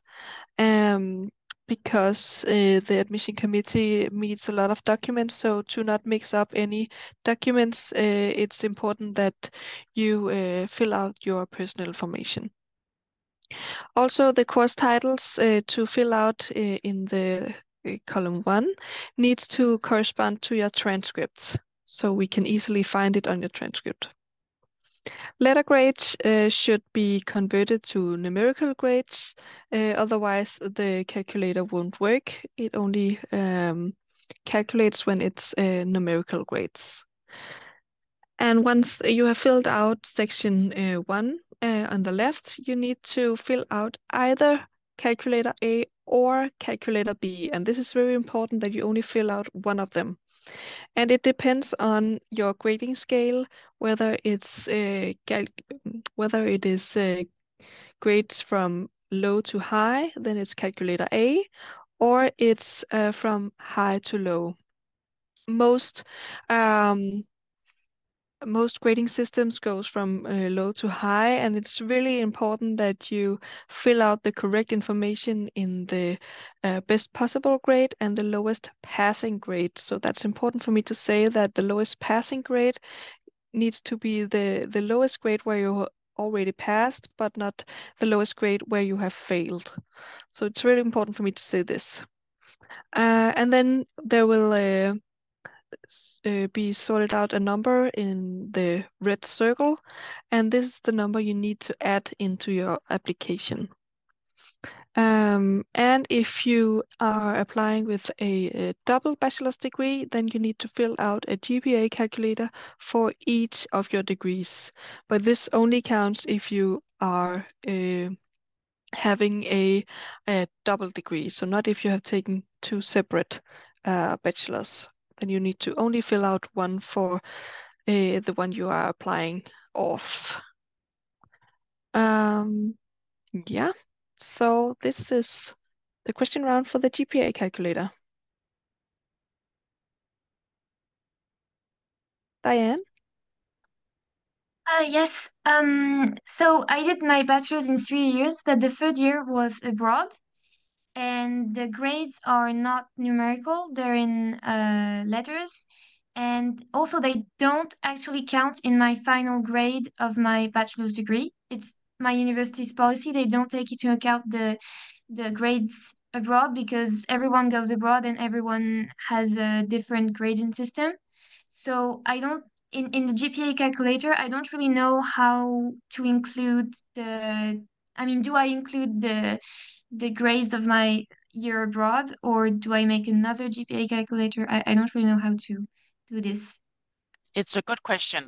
because the admission committee meets a lot of documents, so to not mix up any documents, it's important that you fill out your personal information. Also, the course titles to fill out in the column 1 needs to correspond to your transcript, so we can easily find it on your transcript. Letter grades should be converted to numerical grades, otherwise the calculator won't work. It only calculates when it's numerical grades. And once you have filled out section 1 on the left, you need to fill out either calculator A or calculator B. And this is very important that you only fill out one of them. And it depends on your grading scale, whether it's grades from low to high, then it's calculator A, or it's from high to low. Most grading systems goes from low to high, and it's really important that you fill out the correct information in the best possible grade and the lowest passing grade. So that's important for me to say that the lowest passing grade needs to be the lowest grade where you already passed, but not the lowest grade where you have failed. So it's really important for me to say this. And then there will be sorted out a number in the red circle, and this is the number you need to add into your application. And if you are applying with a double bachelor's degree, then you need to fill out a GPA calculator for each of your degrees. But this only counts if you are having a double degree, so not if you have taken 2 separate bachelors. Then you need to only fill out one for the one you are applying off. Yeah, so this is the question round for the GPA calculator. Diane? Yes. So I did my bachelor's in 3 years, but the third year was abroad, and the grades are not numerical, they're in letters. And also they don't actually count in my final grade of my bachelor's degree. It's my university's policy. They don't take into account the grades abroad because everyone goes abroad and everyone has a different grading system. So I don't in the GPA calculator, I don't really know how to include do I include the grades of my year abroad, or do I make another GPA calculator? I don't really know how to do this. It's a good question.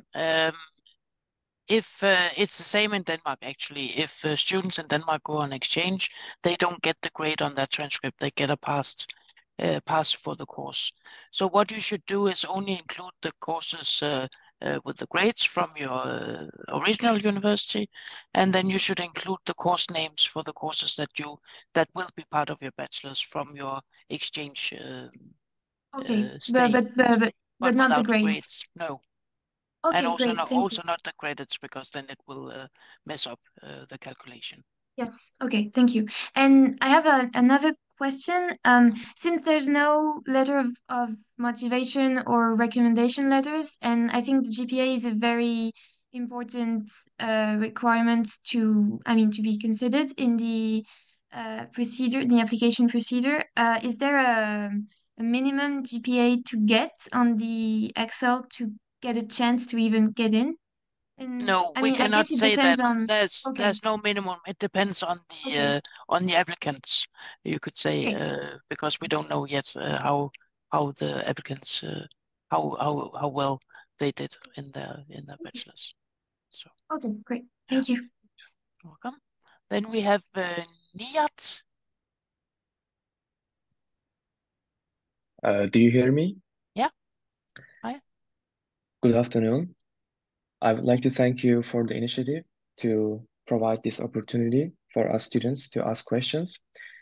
If it's the same in Denmark, actually, if students in Denmark go on exchange, they don't get the grade on that transcript. They get a pass for the course. So what you should do is only include the courses with the grades from your original university, and then you should include the course names for the courses that will be part of your bachelor's from your exchange stay. But not the grades. No. Okay, And also great. not, Thank also you. not the credits, because then it will mess up the calculation. Yes. Okay. Thank you. And I have another question. Since there's no letter of motivation or recommendation letters, and I think the GPA is a very important requirement to be considered in the procedure, the application procedure. Is there a minimum GPA to get on the Excel to get a chance to even get in? No, I we mean, I cannot guess it say depends that. on. There's no minimum. It depends on the applicants, you could say, because we don't know yet how the applicants how well they did in their bachelors. So. Okay, great. Thank you. Welcome. Then we have Niyat. Do you hear me? Yeah. Hi. Good afternoon. I would like to thank you for the initiative to provide this opportunity for us students to ask questions.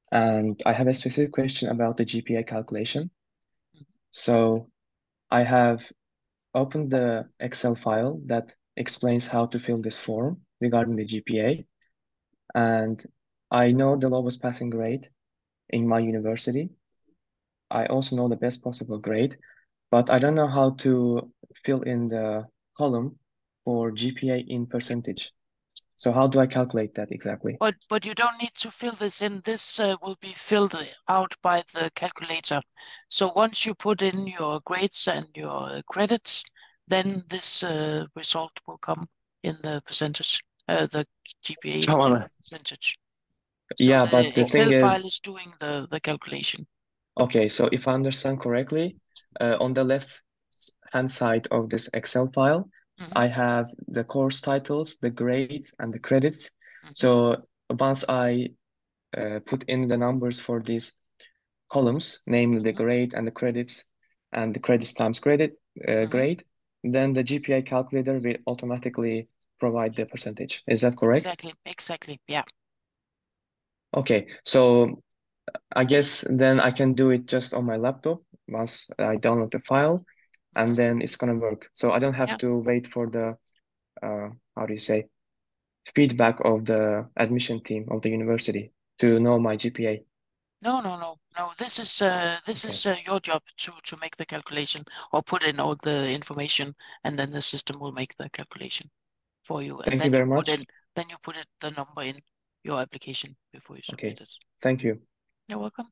and I have a specific question about the GPA calculation. So I have opened the Excel file that explains how to fill this form regarding the GPA, and I know the lowest passing grade in my university. I also know the best possible grade, but I don't know how to fill in the column for GPA in percentage. So how do I calculate that exactly? But you don't need to fill this in. This will be filled out by the calculator. So once you put in your grades and your credits, then this result will come in the percentage, the GPA percentage. So Yeah, the but the Excel thing file is, is doing the calculation. okay, so if I understand correctly, on the left-hand side of this Excel file, I have the course titles, the grades, and the credits. So once I put in the numbers for these columns, namely the grade and the credits, and the credits times grade, then the GPA calculator will automatically provide the percentage. Is that correct? Exactly, yeah. Okay, so I guess then I can do it just on my laptop once I download the file, and then it's gonna work. So I don't have to wait for the how do you say, feedback of the admission team of the university to know my GPA. No. This is your job to make the calculation or put in all the information, and then the system will make the calculation for you. And Thank then you very you put much. in, then you put the number in your application before you submit Okay, it. thank you. You're welcome.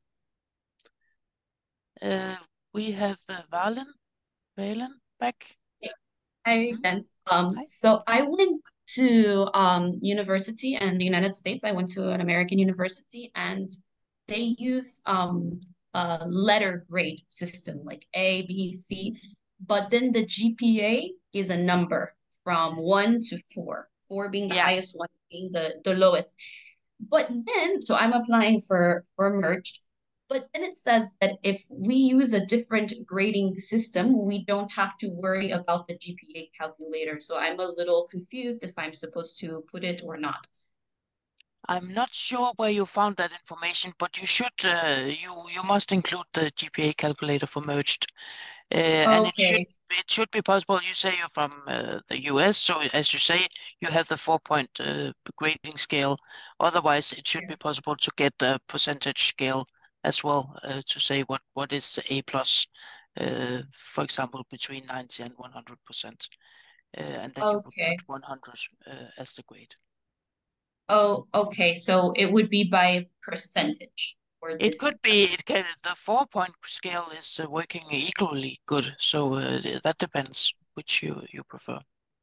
We have Valen back. Hi again. So I went to university in the United States. I went to an American university, and they use a letter grade system like A, B, C, but then the GPA is a number from 1 to 4, 4 being the highest, 1 being the lowest. But then, so I'm applying for merged, but then it says that if we use a different grading system, we don't have to worry about the GPA calculator. So I'm a little confused if I'm supposed to put it or not. I'm not sure where you found that information, but you should you must include the GPA calculator for merged. And it should be possible. You say you're from the US, so as you say, you have the 4-point grading scale. Otherwise, it should be possible to get the percentage scale as well, to say what is A plus, for example, between 90 and 100%. And then you would put 100 as the grade. Oh, okay. So it would be by percentage. It could be. The 4-point scale is working equally good, so that depends which you prefer.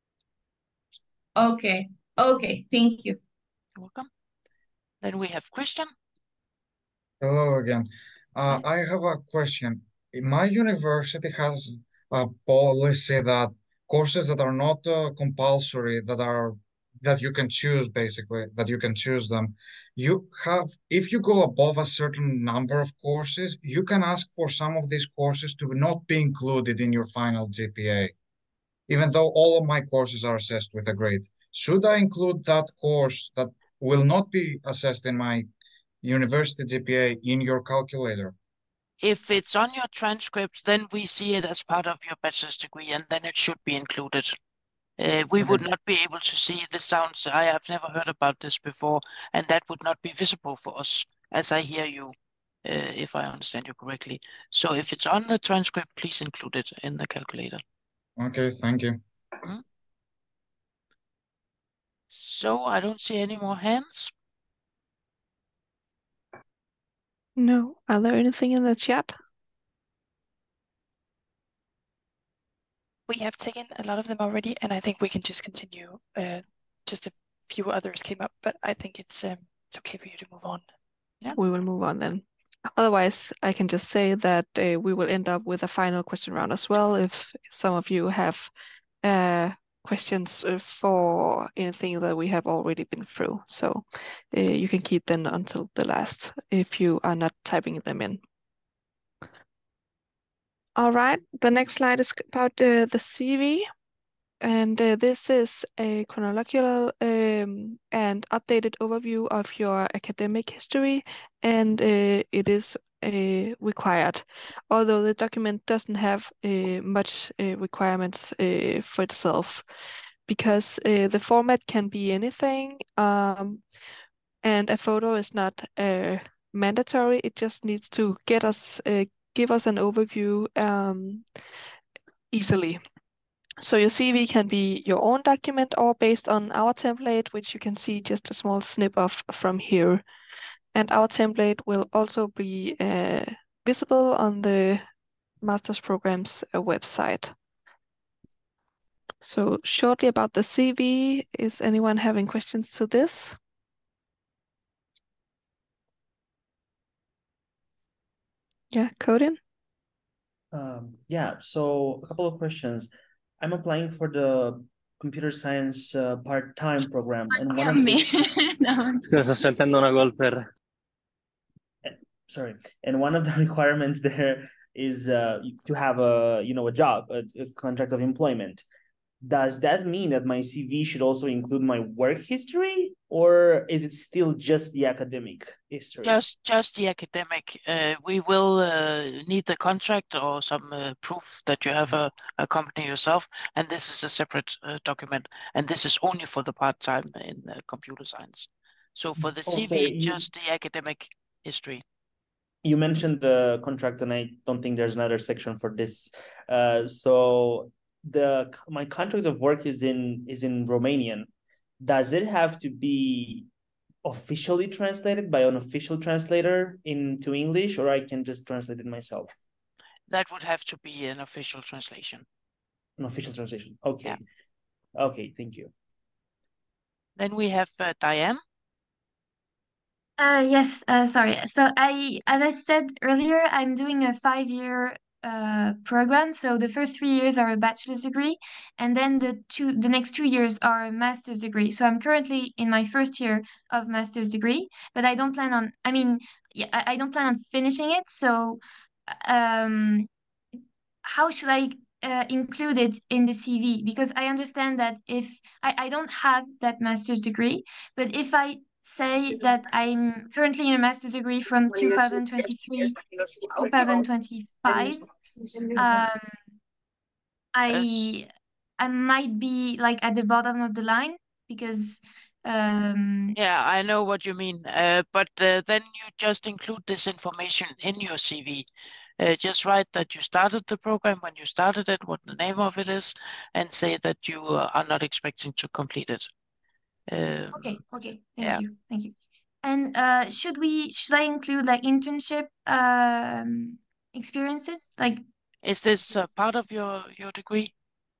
Okay. Thank you. You're welcome. Then we have Christian. Hello again. I have a question. My university has a policy that courses that are not compulsory, that you can choose, basically, that you can choose them. If you go above a certain number of courses, you can ask for some of these courses to not be included in your final GPA, even though all of my courses are assessed with a grade. Should I include that course that will not be assessed in my university GPA in your calculator? If it's on your transcript, then we see it as part of your bachelor's degree, and then it should be included. We would not be able to see. This sounds, I have never heard about this before, and that would not be visible for us, as I hear you, if I understand you correctly. So if it's on the transcript, please include it in the calculator. Okay, thank you. So I don't see any more hands. No. Are there anything in the chat? We have taken a lot of them already, and I think we can just continue. Just a few others came up, but I think it's okay for you to move on. Yeah. We will move on then. Otherwise, I can just say that we will end up with a final question round as well. If some of you have questions for anything that we have already been through, so you can keep them until the last if you are not typing them in. All right, the next slide is about the CV. And this is a chronological and updated overview of your academic history, and it is required, although the document doesn't have much requirements for itself, because the format can be anything, and a photo is not mandatory. It just needs to give us an overview easily. So your CV can be your own document or based on our template, which you can see just a small snip of from here. And our template will also be visible on the master's program's website. So shortly about the CV, is anyone having questions to this? Yeah, Codin? Yeah, so a couple of questions. I'm applying for the computer science part-time program, and one of the No. Scusa, sto sentendo una golfer. sorry, and one of the requirements there is to have a job, a contract of employment. Does that mean that my CV should also include my work history, or is it still just the academic history? Just the academic. We will need the contract or some proof that you have a company yourself, and this is a separate document, and this is only for the part-time in computer science. So for the CV, just the academic history. You mentioned the contract, and I don't think there's another section for this. So my contract of work is in Romanian. Does it have to be officially translated by an official translator into English, or I can just translate it myself? That would have to be an official translation. An official translation. Okay. Yeah. Okay, thank you. Then we have Diane. Yes, sorry. So as I said earlier, I'm doing a 5-year program. So the first 3 years are a bachelor's degree, and then the next 2 years are a master's degree. So I'm currently in my first year of master's degree, but I don't plan on, I don't plan on finishing it. So how should I include it in the CV? Because I understand that if I don't have that master's degree, but if I say that I'm currently in a master's degree from 2023 to 2025, I might be like at the bottom of the line because yeah, I know what you mean. But then you just include this information in your CV. Just write that you started the program when you started it, what the name of it is, and say that you are not expecting to complete it. Okay, thank you. And should I include like internship experiences? Like, is this part of your degree?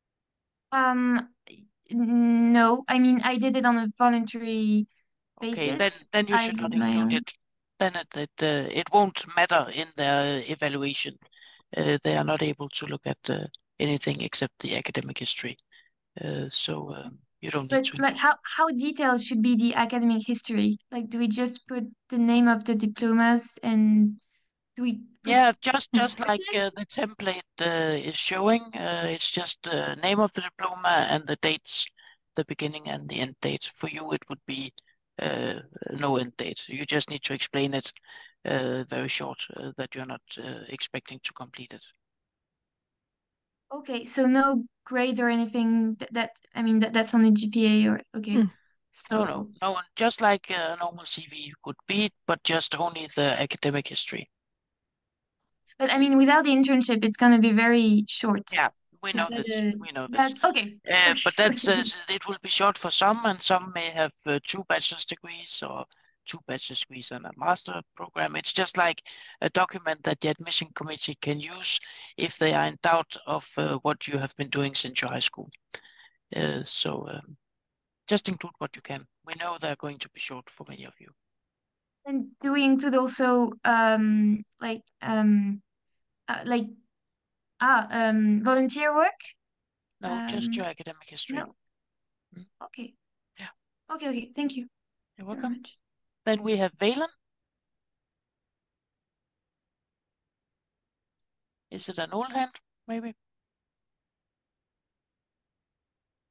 No, I mean I did it on a voluntary Okay, basis. then you should not include it. Then it won't matter in their evaluation. They are not able to look at anything except the academic history. So you don't need to. But like how detailed should be the academic history? Like, do we just put the name of the diplomas and do we? Yeah, just like the template is showing. It's just the name of the diploma and the dates, the beginning and the end date. For you, it would be no end date. You just need to explain it very short that you're not expecting to complete it. Okay, so no grades or anything that's on the GPA or okay. No, just like a normal CV would be, but just only the academic history. But I mean, without the internship, it's going to be very short. Yeah, we know this. We know this. Okay. But that's it will be short for some, and some may have 2 bachelor's degrees or 2 bachelor's degrees and a master program. It's just like a document that the admission committee can use if they are in doubt of what you have been doing since your high school. So just include what you can. We know they're going to be short for many of you. And do we include also volunteer work? No, just your academic history. No. Okay. Yeah. Okay. Thank you. You're welcome. Then we have Valen. Is it an old hand, maybe?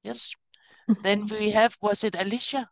Yes. Then we have, was it Alicia?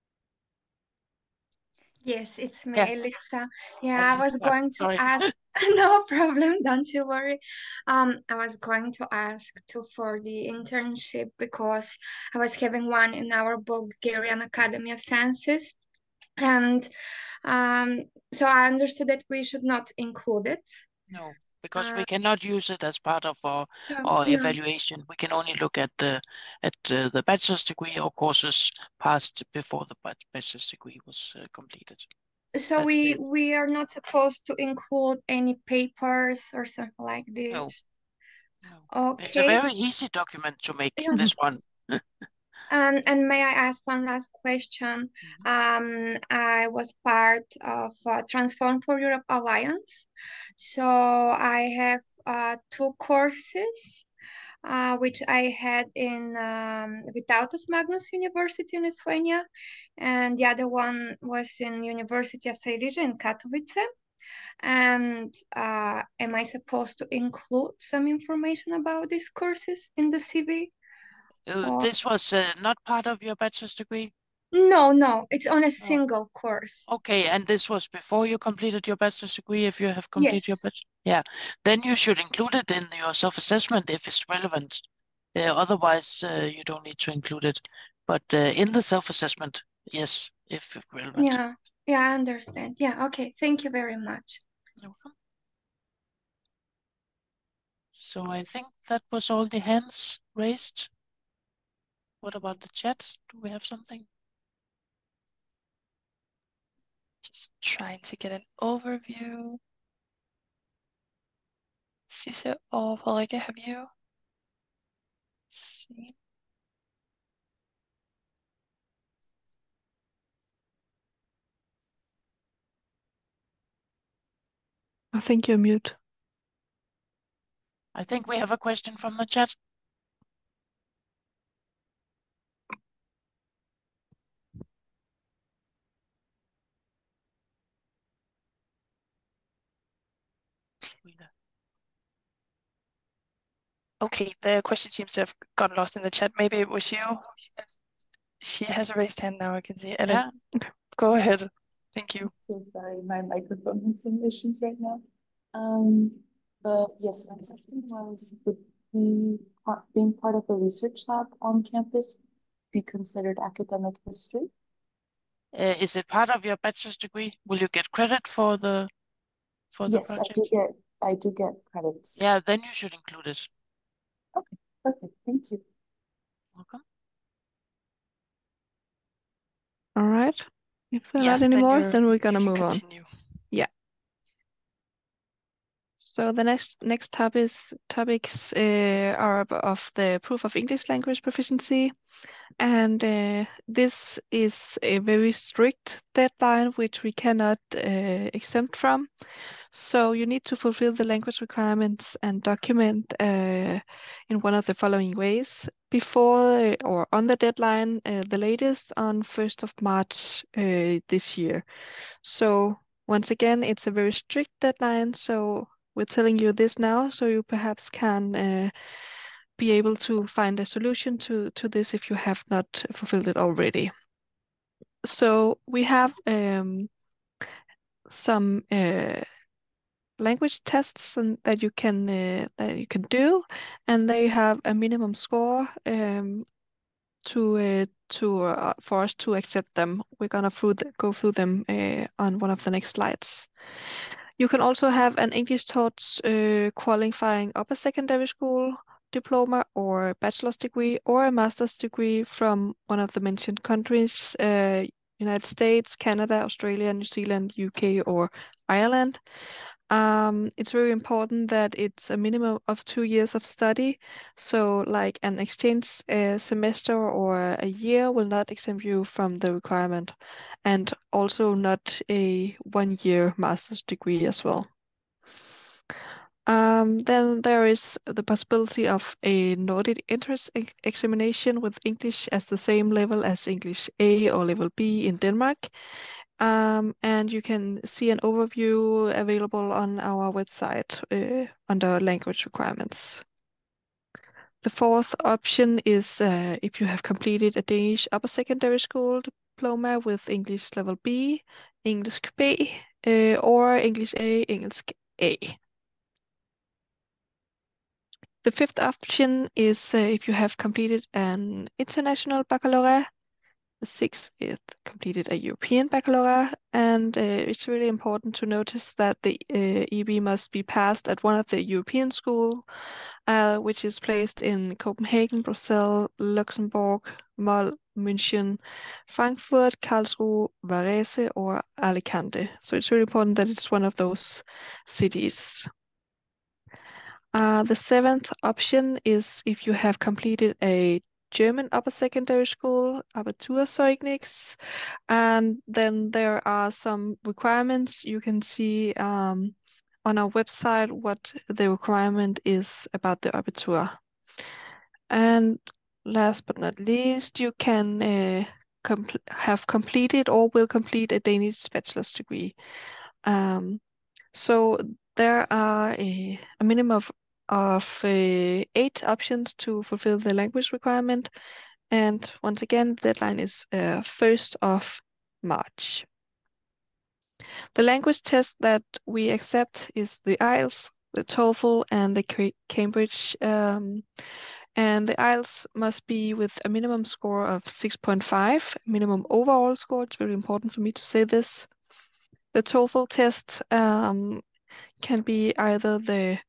Yes, it's me, Yeah. Elitsa. Yeah, I was Alicia, going to sorry. ask, no problem, don't you worry. I was going to ask too for the internship because I was having one in our Bulgarian Academy of Sciences. And so I understood that we should not include it. No, because we cannot use it as part of our Yeah. evaluation. We can only look at the bachelor's degree or courses passed before the bachelor's degree was completed. So we are not supposed to include any papers or something like No. this. No. Okay. It's a very easy document to make, Yeah. this one. And may I ask one last question? I was part of Transform for Europe Alliance. So I have 2 courses, which I had in Vytautas Magnus University in Lithuania, and the other one was in University of Silesia in Katowice. And am I supposed to include some information about these courses in the CV? This was not part of your bachelor's degree? No, it's on a single course. Okay, and this was before you completed your bachelor's degree, if you have completed your bachelor's? Yeah, then you should include it in your self-assessment if it's relevant. Otherwise, you don't need to include it. But in the self-assessment, yes, if relevant. Yeah, I understand. Yeah, okay, thank you very much. You're welcome. So I think that was all the hands raised. What about the chat? Do we have something? Just trying to get an overview. Sisse or Frederikke, have you? See. I think you're mute. I think we have a question from the chat. Okay, the question seems to have gotten lost in the chat. Maybe it was you. She has a raised hand now, I can see. Ellen, go ahead. Thank you. So sorry, my microphone has some issues right now. But yes, my question was, would being part of a research lab on campus be considered academic history? Is it part of your bachelor's degree? Will you get credit for the Yes, project? I do get credits. Yeah, then you should include it. Okay, perfect. Thank you. Welcome. All right. If there are Yeah, not any then more, you're- then we're gonna you can move on. continue. Yeah. So the next topics are of the proof of English language proficiency, and this is a very strict deadline which we cannot exempt from. So you need to fulfill the language requirements and document in one of the following ways: before or on the deadline, the latest on 1st of March this year. So once again, it's a very strict deadline. So we're telling you this now, so you perhaps can be able to find a solution to this if you have not fulfilled it already. So we have some language tests that you can do, and they have a minimum score for us to accept them. We're gonna go through them on one of the next slides. You can also have an English taught qualifying upper secondary school diploma or bachelor's degree or a master's degree from one of the mentioned countries, United States, Canada, Australia, New Zealand, UK, or Ireland. It's very important that it's a minimum of 2 years of study. So like an exchange semester or a year will not exempt you from the requirement, and also not a 1-year master's degree as well. Then there is the possibility of a Nordic entrance examination with English as the same level as English A or level B in Denmark. And you can see an overview available on our website under language requirements. The fourth option is if you have completed a Danish upper secondary school diploma with English level B, English B, or English A, English A. The fifth option is if you have completed an international baccalaureate. The sixth is completed a European baccalaureate, and it's really important to notice that the EB must be passed at one of the European schools, which is placed in Copenhagen, Brussels, Luxembourg, München, Frankfurt, Karlsruhe, Varese, or Alicante. So it's really important that it's one of those cities. The seventh option is if you have completed a German upper secondary school, Abiturzeugnis, and then there are some requirements. You can see on our website what the requirement is about the Abitur. And last but not least, you can have completed or will complete a Danish bachelor's degree. So there are a minimum of 8 options to fulfill the language requirement. And once again, the deadline is 1st of March. The language test that we accept is the IELTS, the TOEFL, and the Cambridge. And the IELTS must be with a minimum score of 6.5, minimum overall score. It's very important for me to say this. The TOEFL test can be either the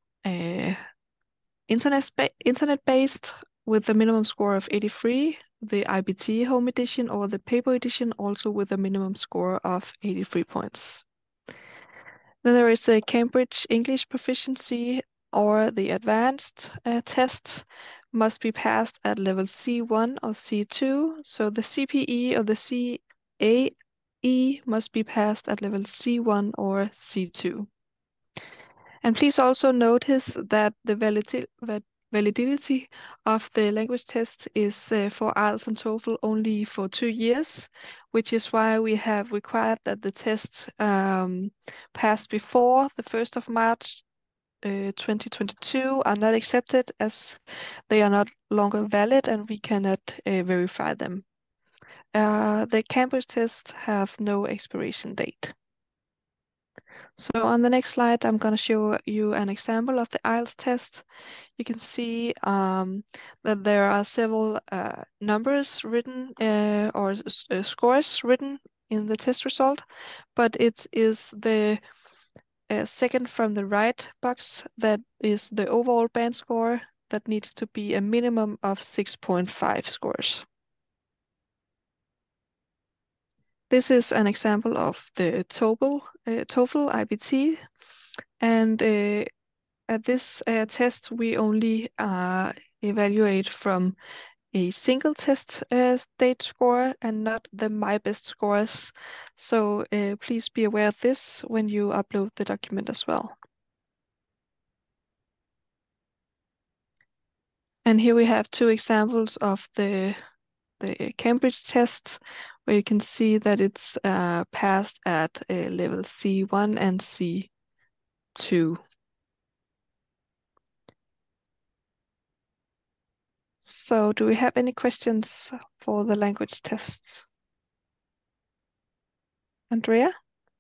internet-based with a minimum score of 83, the IBT home edition, or the paper edition, also with a minimum score of 83 points. Then there is a Cambridge English proficiency or the advanced test must be passed at level C1 or C2. So the CPE or the CAE must be passed at level C1 or C2. And please also notice that the validity of the language test is for IELTS and TOEFL only for 2 years, which is why we have required that the test passed before the 1st of March 2022 are not accepted, as they are not longer valid and we cannot verify them. The Cambridge tests have no expiration date. So on the next slide, I'm going to show you an example of the IELTS test. You can see that there are several numbers written or scores written in the test result, but it is the second from the right box that is the overall band score that needs to be a minimum of 6.5 scores. This is an example of the TOEFL IBT, and at this test we only evaluate from a single test state score and not the MyBest scores. So please be aware of this when you upload the document as well. And here we have 2 examples of the Cambridge tests, where you can see that it's passed at level C1 and C2. So do we have any questions for the language tests? Andrea?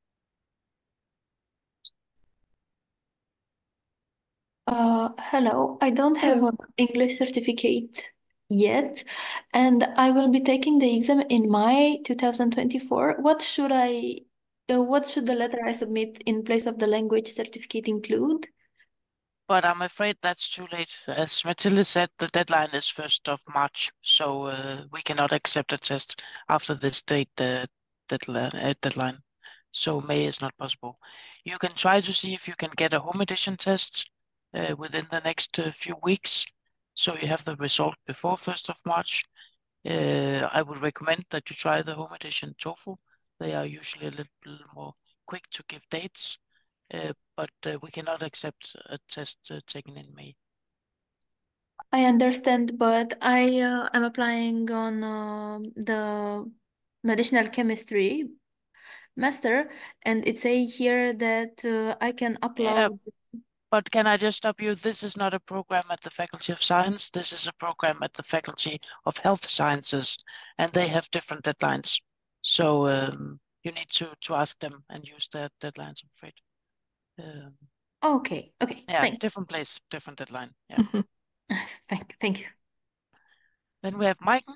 Hello, I don't have an English certificate yet, and I will be taking the exam in May 2024. What should the letter I submit in place of the language certificate include? But I'm afraid that's too late. As Mathilde said, the deadline is 1st of March, so we cannot accept a test after this date deadline. So May is not possible. You can try to see if you can get a home edition test within the next few weeks, so you have the result before 1st of March. I would recommend that you try the home edition TOEFL. They are usually a little more quick to give dates. But we cannot accept a test taken in May. I understand, but I am applying on the medicinal chemistry master, and it says here that I can upload. But can I just stop you? This is not a program at the Faculty of Science. This is a program at the Faculty of Health Sciences, and they have different deadlines. So you need to ask them and use their deadlines, I'm afraid. Okay, Yeah, thank you. different place, different deadline. Yeah. Thank you. Then we have Maiken.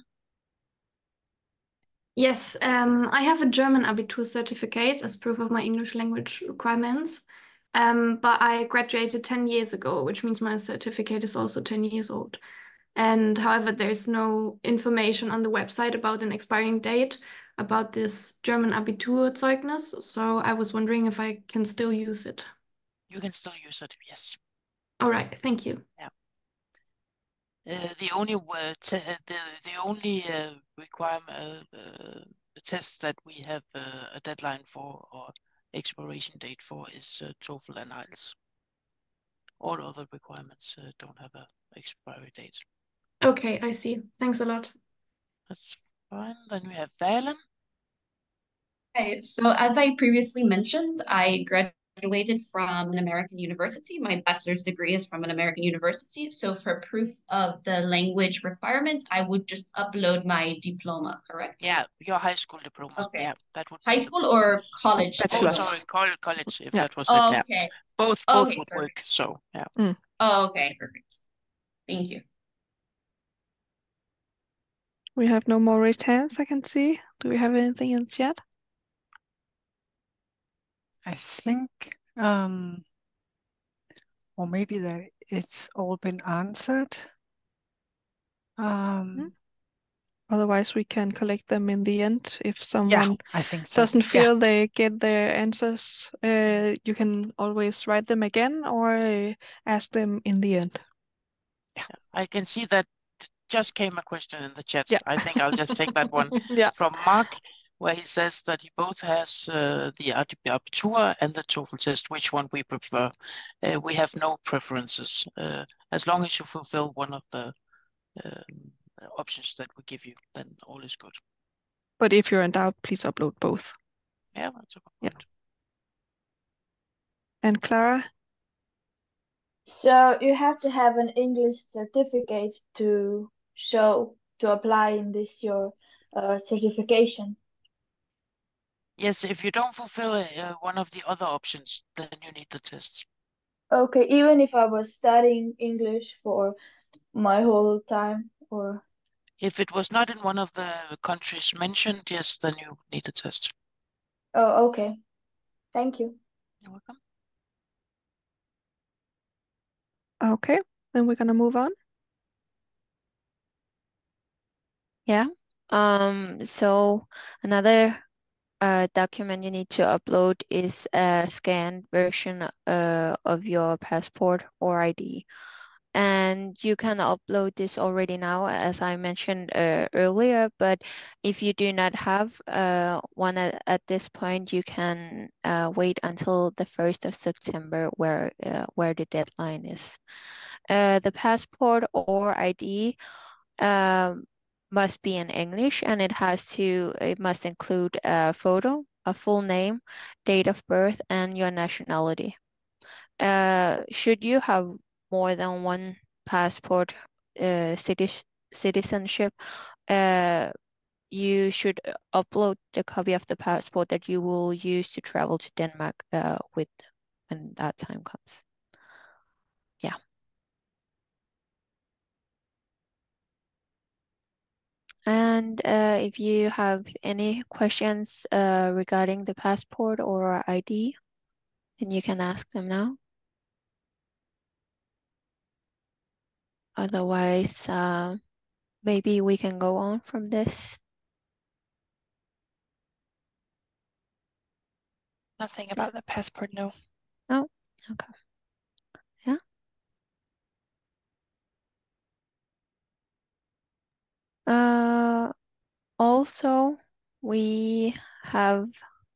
Yes, I have a German Abitur certificate as proof of my English language requirements. But I graduated 10 years ago, which means my certificate is also 10 years old. And however, there's no information on the website about an expiring date about this German Abiturzeugnis. So I was wondering if I can still use it. You can still use it, yes. All right, thank you. Yeah. The only requirement, the test that we have a deadline for or expiration date for is TOEFL and IELTS. All other requirements don't have a expiry date. Okay, I see. Thanks a lot. That's fine. Then we have Valen. Okay, so as I previously mentioned, I graduated from an American university. My bachelor's degree is from an American university. So for proof of the language requirement, I would just upload my diploma, correct? Yeah, your high school diploma. Okay. Yeah, that would High school or college? Oh, sorry, college, if that was it. Oh, Yeah. okay. Both Okay, would perfect. work, so yeah. Oh, okay, perfect. Thank you. We have no more raised hands I can see. Do we have anything in chat? I think, or maybe that it's all been answered. Otherwise, we can collect them in the end. If someone I think so. doesn't feel they get their answers, you can always write them again or ask them in the end. I can see that just came a question in the chat. Yeah. I think I'll just take that one from Mark, where he says that he both has the Abitur and the TOEFL test. Which one we prefer? We have no preferences. As long as you fulfill one of the options that we give you, then all is good. But if you're in doubt, please upload both. Yeah, that's a good point. And Clara? So you have to have an English certificate to apply in this your certification. Yes, if you don't fulfill one of the other options, then you need the test. Okay, even if I was studying English for my whole time, or If it was not in one of the countries mentioned, yes, then you need a test. oh, okay. Thank you. You're welcome. Okay, then we're gonna move on. Yeah. So another document you need to upload is a scanned version of your passport or ID. And you can upload this already now, as I mentioned earlier, but if you do not have one at this point, you can wait until the 1st of September where the deadline is. The passport or ID must be in English, and it must include a photo, a full name, date of birth, and your nationality. Should you have more than one passport citizenship, you should upload the copy of the passport that you will use to travel to Denmark with when that time comes. Yeah. And if you have any questions regarding the passport or ID, then you can ask them now. Otherwise, maybe we can go on from this. Nothing about the passport, no. No? Okay. Yeah. Also, we have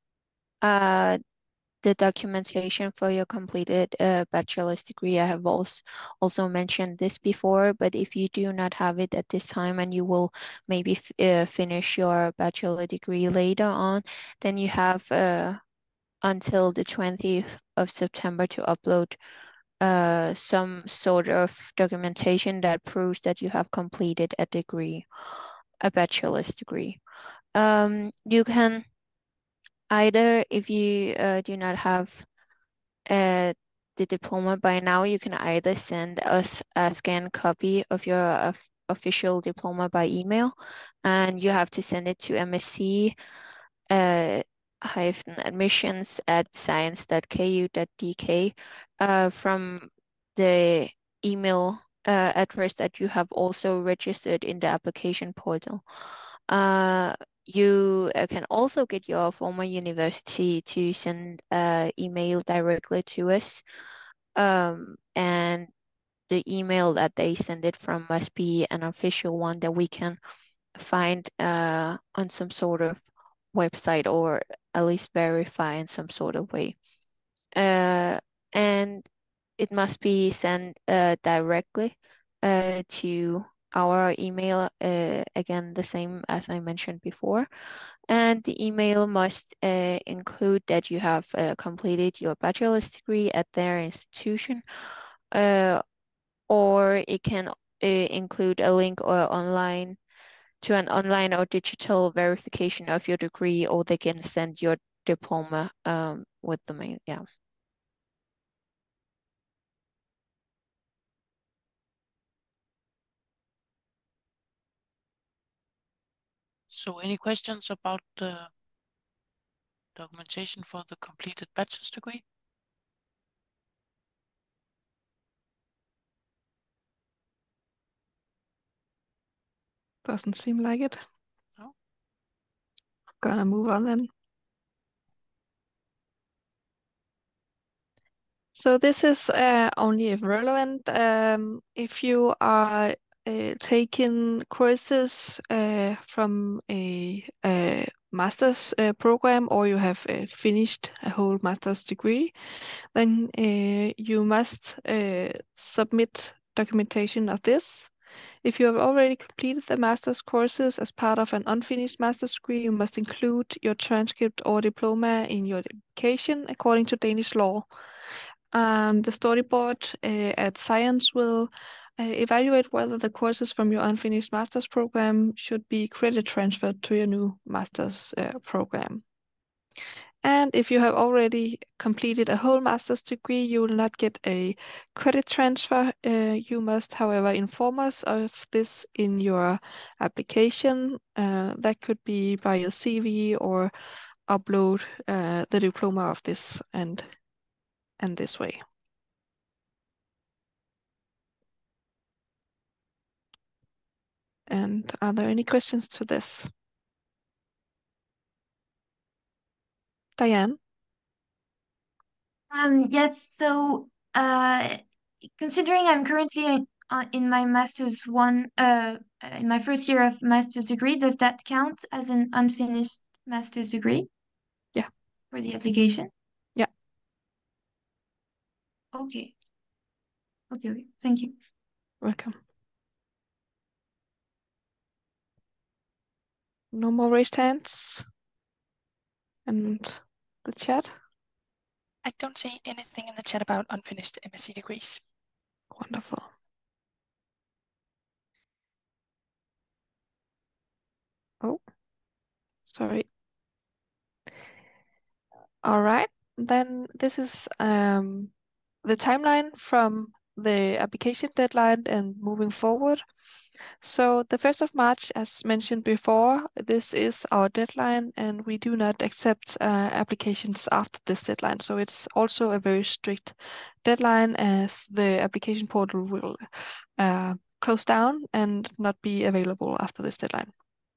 the documentation for your completed bachelor's degree. I have also mentioned this before, but if you do not have it at this time and you will maybe finish your bachelor degree later on, then you have until the 20th of September to upload some sort of documentation that proves that you have completed a degree, a bachelor's degree. You can either, if you do not have the diploma by now, you can either send us a scanned copy of your official diploma by email, and you have to send it to MSc admissions@science.ku.dk from the email address that you have also registered in the application portal. You can also get your former university to send an email directly to us, and the email that they send it from must be an official one that we can find on some sort of website, or at least verify in some sort of way. And it must be sent directly to our email, again, the same as I mentioned before. And the email must include that you have completed your bachelor's degree at their institution, or it can include a link or online to an online or digital verification of your degree, or they can send your diploma with the mail. Yeah. So any questions about the documentation for the completed bachelor's degree? Doesn't seem like it. No. Gonna move on then. So this is only if relevant. If you are taking courses from a master's program, or you have finished a whole master's degree, then you must submit documentation of this. If you have already completed the master's courses as part of an unfinished master's degree, you must include your transcript or diploma in your application according to Danish law. The storyboard at Science will evaluate whether the courses from your unfinished master's program should be credit transferred to your new master's program. And if you have already completed a whole master's degree, you will not get a credit transfer. You must, however, inform us of this in your application. That could be by your CV, or upload the diploma of this and this way. And are there any questions to this? Diane? Yes, so considering I'm currently in my master's in my first year of master's degree, does that count as an unfinished master's degree? Yeah. For the application? Yeah. Okay. Okay, thank you. Welcome. No more raised hands? And the chat? I don't see anything in the chat about unfinished MSc degrees. Wonderful. Oh, sorry. All right, then this is the timeline from the application deadline and moving forward. So the 1st of March, as mentioned before, this is our deadline, and we do not accept applications after this deadline. So it's also a very strict deadline, as the application portal will close down and not be available after this deadline.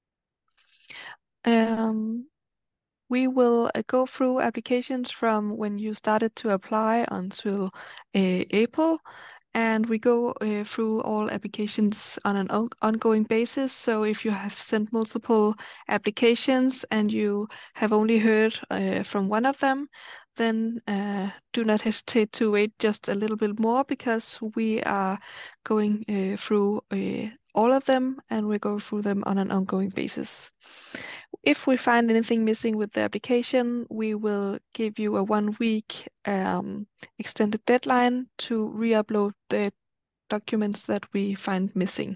We will go through applications from when you started to apply until April, and we go through all applications on an ongoing basis. So if you have sent multiple applications and you have only heard from one of them, then do not hesitate to wait just a little bit more, because we are going through all of them, and we go through them on an ongoing basis. If we find anything missing with the application, we will give you a 1-week extended deadline to re-upload the documents that we find missing.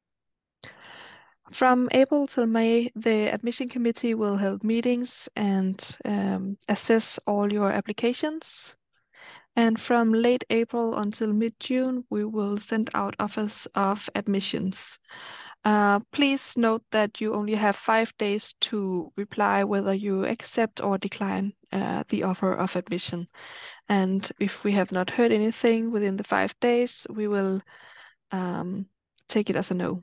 From April till May, the admission committee will hold meetings and assess all your applications. And from late April until mid-June, we will send out offers of admissions. Please note that you only have 5 days to reply whether you accept or decline the offer of admission. And if we have not heard anything within the 5 days, we will take it as a no.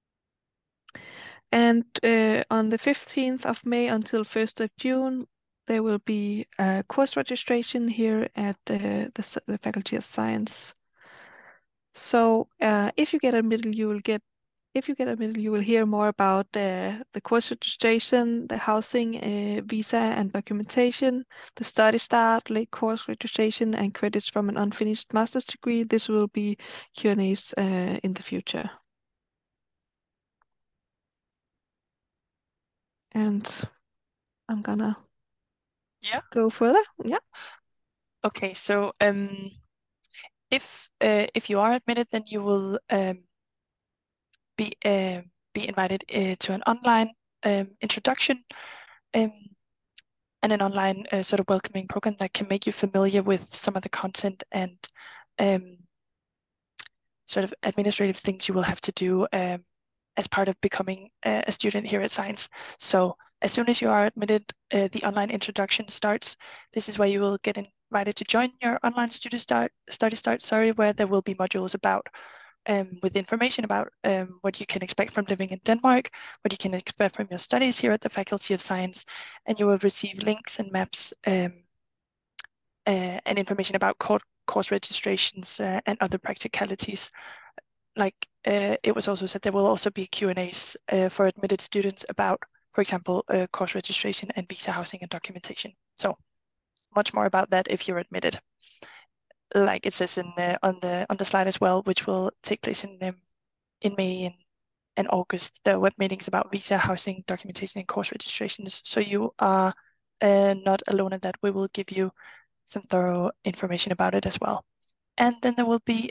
And on the 15th of May until 1st of June, there will be a course registration here at the Faculty of Science. So if you get admitted, you will hear more about the course registration, the housing, visa and documentation, the study start, late course registration, and credits from an unfinished master's degree. This will be Q&As in the future. And I'm gonna go further. Yeah. Okay, so if you are admitted, then you will be invited to an online introduction and an online sort of welcoming program that can make you familiar with some of the content and sort of administrative things you will have to do as part of becoming a student here at Science. So as soon as you are admitted, the online introduction starts. This is where you will get invited to join your online study start, where there will be modules about with information about what you can expect from living in Denmark, what you can expect from your studies here at the Faculty of Science, and you will receive links and maps and information about course registrations and other practicalities. Like it was also said, there will also be Q&As for admitted students about, for example, course registration and visa, housing and documentation. So much more about that if you're admitted. Like it says on the slide as well, which will take place in May and August, the web meetings about visa, housing, documentation, and course registrations. So you are not alone in that. We will give you some thorough information about it as well. And then there will be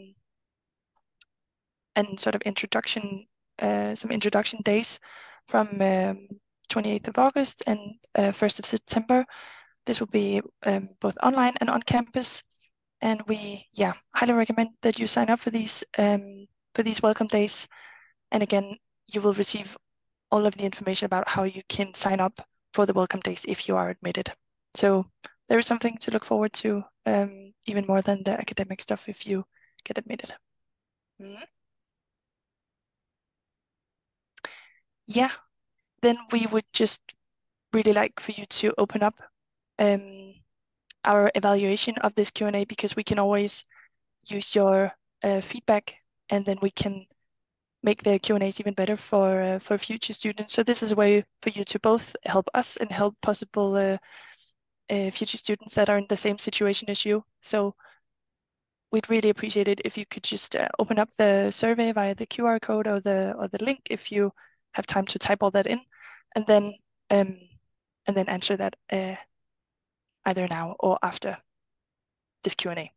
and sort of introduction, some introduction days from 28th of August and 1st of September. This will be both online and on campus. And we, highly recommend that you sign up for these welcome days. And again, you will receive all of the information about how you can sign up for the welcome days if you are admitted. So there is something to look forward to, even more than the academic stuff if you get admitted. Yeah, then we would just really like for you to open up our evaluation of this Q&A, because we can always use your feedback, and then we can make the Q&As even better for future students. So this is a way for you to both help us and help possible future students that are in the same situation as you. So we'd really appreciate it if you could just open up the survey via the QR code or the link if you have time to type all that in, and then answer that either now or after this Q&A.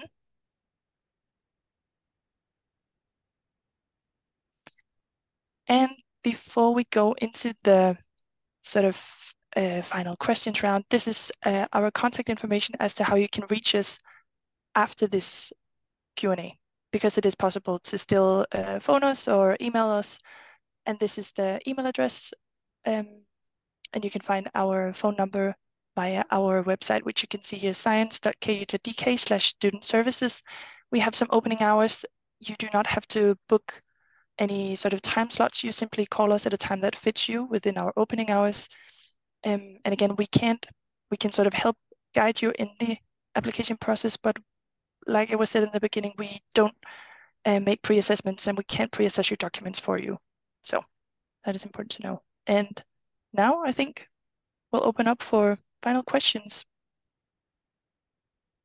And before we go into the sort of final questions round, this is our contact information as to how you can reach us after this Q&A, because it is possible to still phone us or email us. And this is the email address. And you can find our phone number via our website, which you can see here, science.ku.dk/student services. We have some opening hours. You do not have to book any sort of time slots. You simply call us at a time that fits you within our opening hours. And again, we can sort of help guide you in the application process, but like it was said in the beginning, we don't make pre-assessments, and we can't pre-assess your documents for you. So that is important to know. And now I think we'll open up for final questions.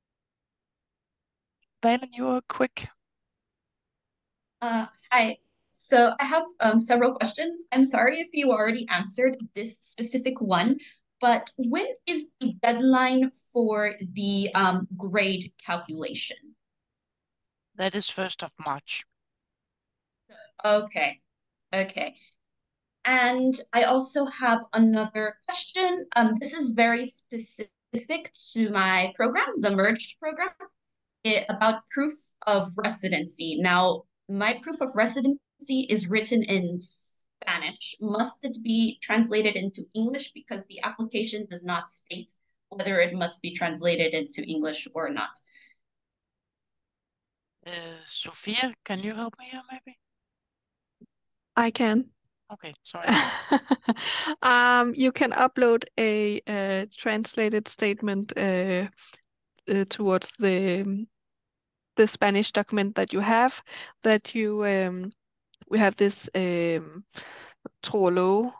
Valen, you are quick. Hi. So I have several questions. I'm sorry if you already answered this specific one, but when is the deadline for the grade calculation? That is 1st of March. Okay, okay. And I also have another question. This is very specific to my program, the merged program, about proof of residency. Now, my proof of residency is written in Spanish. Must it be translated into English because the application does not state whether it must be translated into English or not? Sophia, can you help me here maybe? I can. Okay, sorry. You can upload a translated statement towards the Spanish document that you have. That you we have this tro og love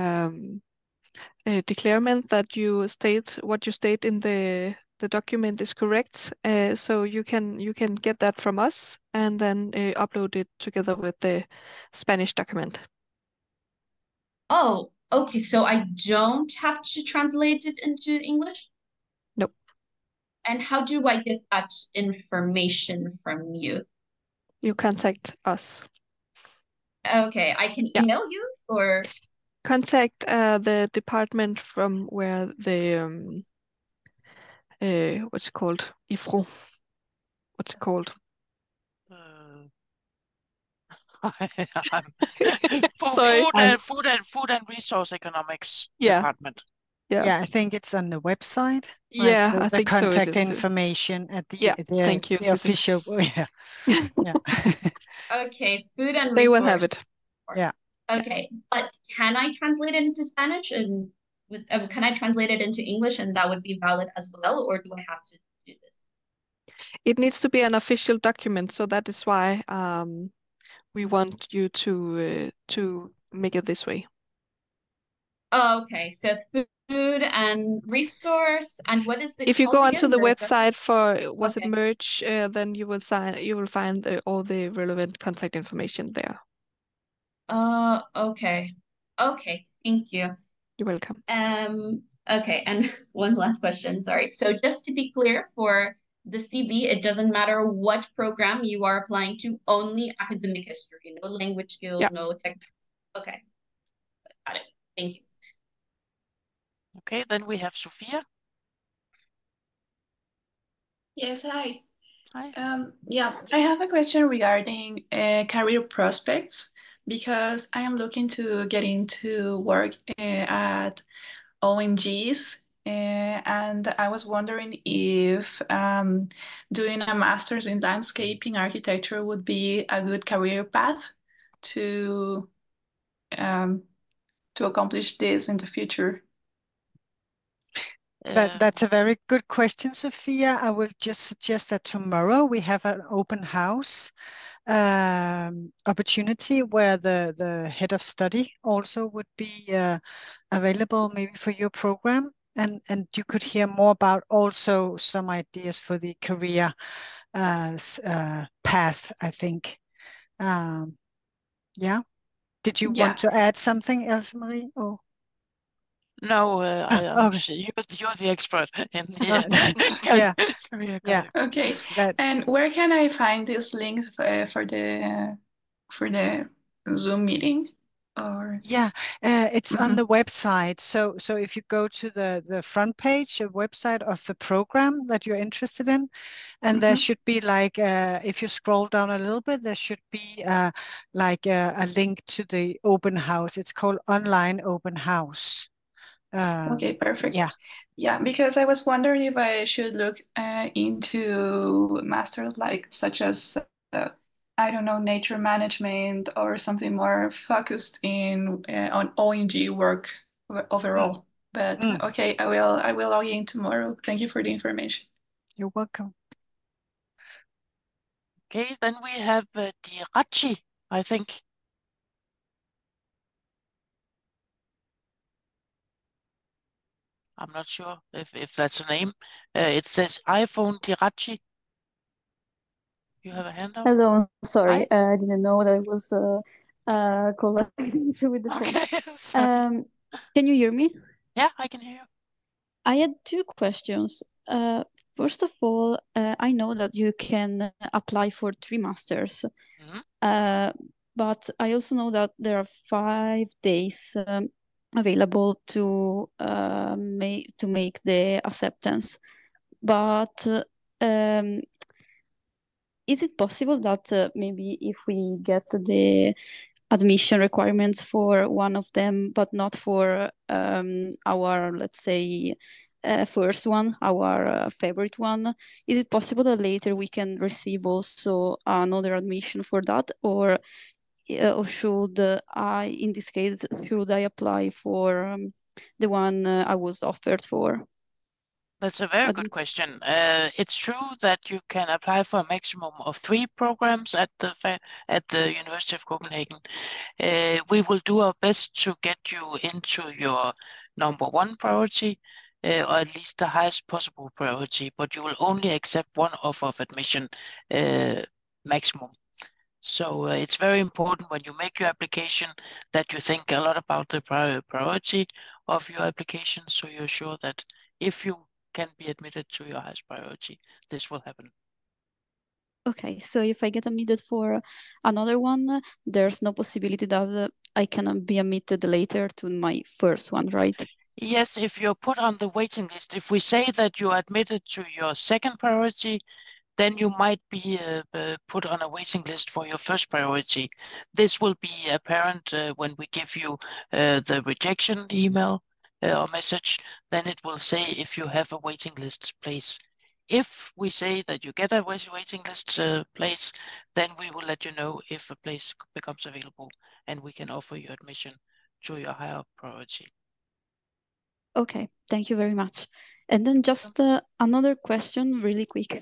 declarement that you state what you state in the document is correct. So you can get that from us and then upload it together with the Spanish document. Oh, okay. So I don't have to translate it into English? Nope. And how do I get that information from you? You contact us. Okay, I can email you or? Contact the department from where the what's it called? IFRO. What's it called? Sorry. Food and Resource Economics Department. Yeah, I think it's on the website. Yeah, right? I The think so. contact It is too. information at the thank you, the official. Yeah. Okay, food and They resource. will have it. Yeah. Okay, but can I translate it into Spanish and can I translate it into English and that would be valid as well, or do I have to do this? It needs to be an official document, so that is why we want you to make it this way. Oh, okay, so food and resource, and what is the? If you go onto again? the website for was it Okay. merge, then you will find all the relevant contact information there. Okay. Okay, thank you. You're welcome. Okay, and one last question, sorry. So just to be clear, for the CB, it doesn't matter what program you are applying to, only academic history, no language skills, no tech. Okay, got it. Thank you. Okay, then we have Sophia. Yes, hi. Hi. Yeah, I have a question regarding career prospects because I am looking to get into work at ONGs, and I was wondering if doing a master's in landscaping architecture would be a good career path to accomplish this in the future. That's a very good question, Sophia. I will just suggest that tomorrow we have an open house opportunity where the head of study also would be available maybe for your program, and you could hear more about also some ideas for the career path, I think. Yeah. Did you want to add something else, Marie? Or? No, you're the expert in the career guide. Okay. And where can I find this link for the Zoom meeting? Or it's on the website. So if you go to the front page, the website of the program that you're interested in, and there should be like if you scroll down a little bit, there should be like a link to the open house. It's called Online Open House. Okay, perfect. Yeah, because I was wondering if I should look into masters such as I don't know, nature management or something more focused in on ONG work overall. But okay, I will log in tomorrow. Thank you for the information. You're welcome. Okay, then we have Dirachi, I think. I'm not sure if that's a name. It says iPhone Dirachi. You have a hand up? Hello, sorry, Hi. I didn't know that I was collecting with the phone. Okay, sorry. Can you hear me? Yeah, I can hear you. I had two questions. First of all, I know that you can apply for 3 masters, but I also know that there are 5 days available to make the acceptance. But is it possible that maybe if we get the admission requirements for one of them, but not for our, let's say, first one, our favorite one, is it possible that later we can receive also another admission for that, or should I, in this case, should I apply for the one I was offered for? That's a very good question. It's true that you can apply for a maximum of 3 programs at the University of Copenhagen. We will do our best to get you into your number 1 priority, or at least the highest possible priority, but you will only accept 1 offer of admission maximum. So it's very important when you make your application that you think a lot about the priority of your application, so you're sure that if you can be admitted to your highest priority, this will happen. Okay, so if I get admitted for another one, there's no possibility that I can be admitted later to my first one, right? Yes, if you're put on the waiting list, if we say that you're admitted to your second priority, then you might be put on a waiting list for your first priority. This will be apparent when we give you the rejection email or message. Then it will say if you have a waiting list place. If we say that you get a waiting list place, then we will let you know if a place becomes available and we can offer you admission to your higher priority. Okay, thank you very much. And then just another question, really quick.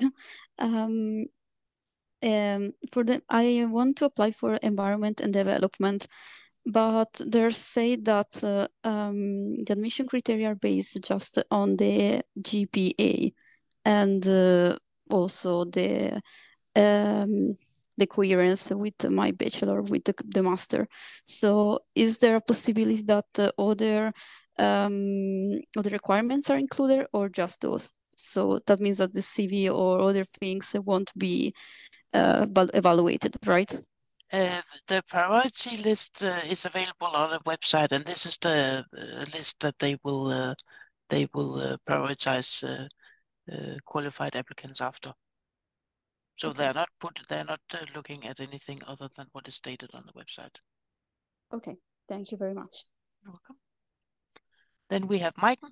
I want to apply for environment and development, but they say that the admission criteria are based just on the GPA and also the coherence with my bachelor, with the master. So is there a possibility that other requirements are included or just those? So that means that the CV or other things won't be evaluated, right? The priority list is available on the website, and this is the list that they will prioritize qualified applicants after. So Okay. they're not looking at anything other than what is stated on the website. Okay, thank you very much. You're welcome. Then we have Maiken.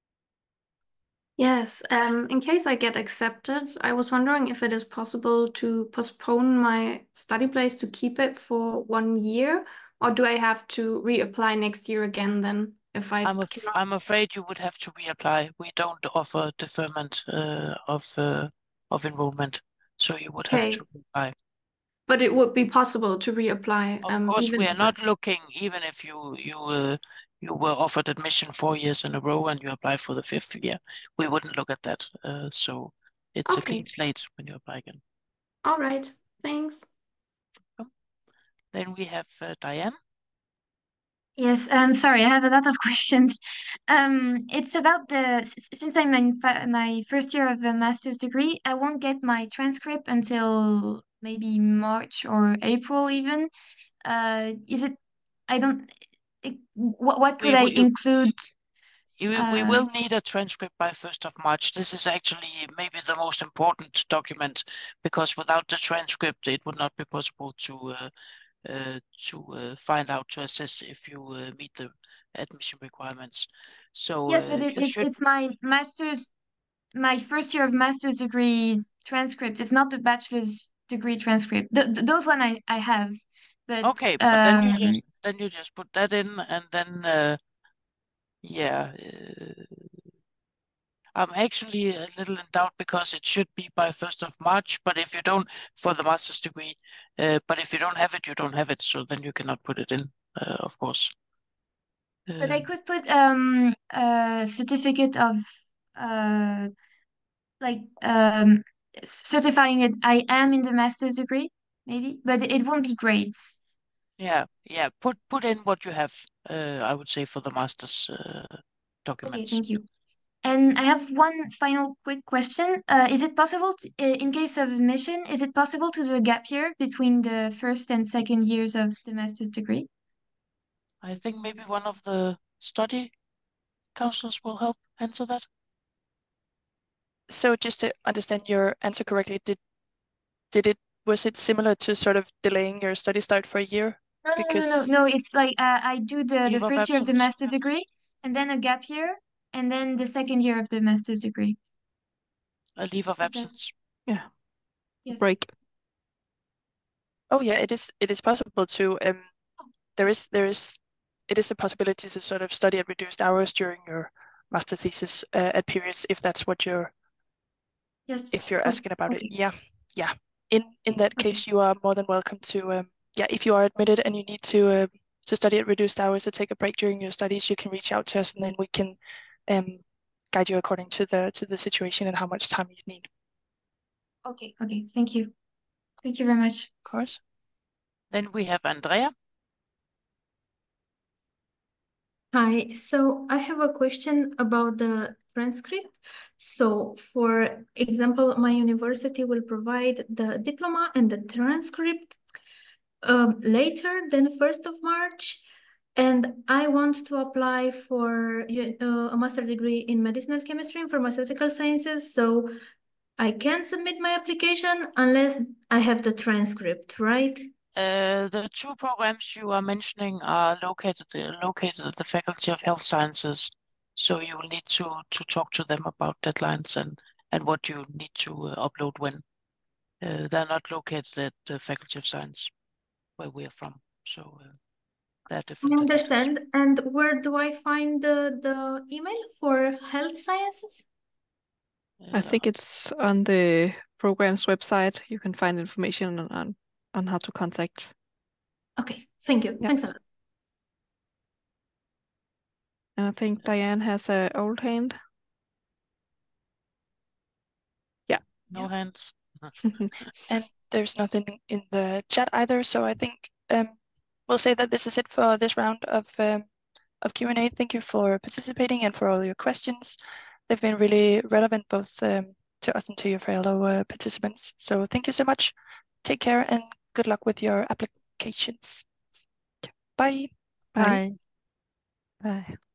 Yes, in case I get accepted, I was wondering if it is possible to postpone my study place to keep it for 1 year, or do I have to reapply next year again then if I cannot? I'm afraid you would have to reapply. We don't offer deferment of enrollment, so you would have to reapply. But it would be possible to reapply. Of course, even we are if not looking, even if you were offered admission 4 years in a row and you apply for the 5th year, we wouldn't look at that. So it's a clean slate when you apply again. All right, thanks. Then we have Diane. Yes, sorry, I have a lot of questions. It's about since I'm in my first year of a master's degree, I won't get my transcript until maybe March or April even. Is it, I don't, what could I include? We will need a transcript by 1st of March. This is actually maybe the most important document, because without the transcript, it would not be possible to find out, to assess if you meet the admission requirements. So yes, but it's my master's, my first year of master's degree transcript. It's not the bachelor's degree transcript. Those one I have, but okay, but then you just put that in, and then yeah. I'm actually a little in doubt because it should be by 1st of March, but if you don't, for the master's degree, but if you don't have it, you don't have it, so then you cannot put it in, of course. But I could put a certificate of like certifying it I am in the master's degree, maybe, but it won't be grades. Yeah, put in what you have, I would say, for the master's Okay, documents. thank you. And I have one final quick question. Is it possible, in case of admission, is it possible to do a gap year between the first and second years of the master's degree? I think maybe one of the study councils will help answer that. So just to understand your answer correctly, was it similar to sort of delaying your study start for a year? No. It's like I do the Leave of first year of the absence. master's degree, and then a gap year, and then the second year of the master's degree. A leave of absence. Yeah. Yes. Break. Oh yeah, it is possible to it is a possibility to sort of study at reduced hours during your master thesis at periods if that's what you're if you're asking about it. Yeah. In that case, you are more than welcome to if you are admitted and you need to study at reduced hours or take a break during your studies, you can reach out to us and then we can guide you according to the situation and how much time you need. Okay. Thank you. Thank you very much. Of course. Then we have Andrea. Hi, so I have a question about the transcript. So for example, my university will provide the diploma and the transcript later than 1st of March. And I want to apply for a master degree in medicinal chemistry and pharmaceutical sciences. So I can submit my application unless I have the transcript, right? The two programs you are mentioning are located at the Faculty of Health Sciences. So you will need to talk to them about deadlines and what you need to upload when. They're not located at the Faculty of Science, where we are from. So they're different. I understand. And where do I find the email for health sciences? I think it's on the program's website. You can find information on how to contact. Okay, thank you. Thanks a lot. And I think Diane has an old hand. Yeah. No hands. And there's nothing in the chat either. So I think we'll say that this is it for this round of Q&A. Thank you for participating and for all your questions. They've been really relevant both to us and to your fellow participants. So thank you so much. Take care and good luck with your applications. Bye. Bye. Bye.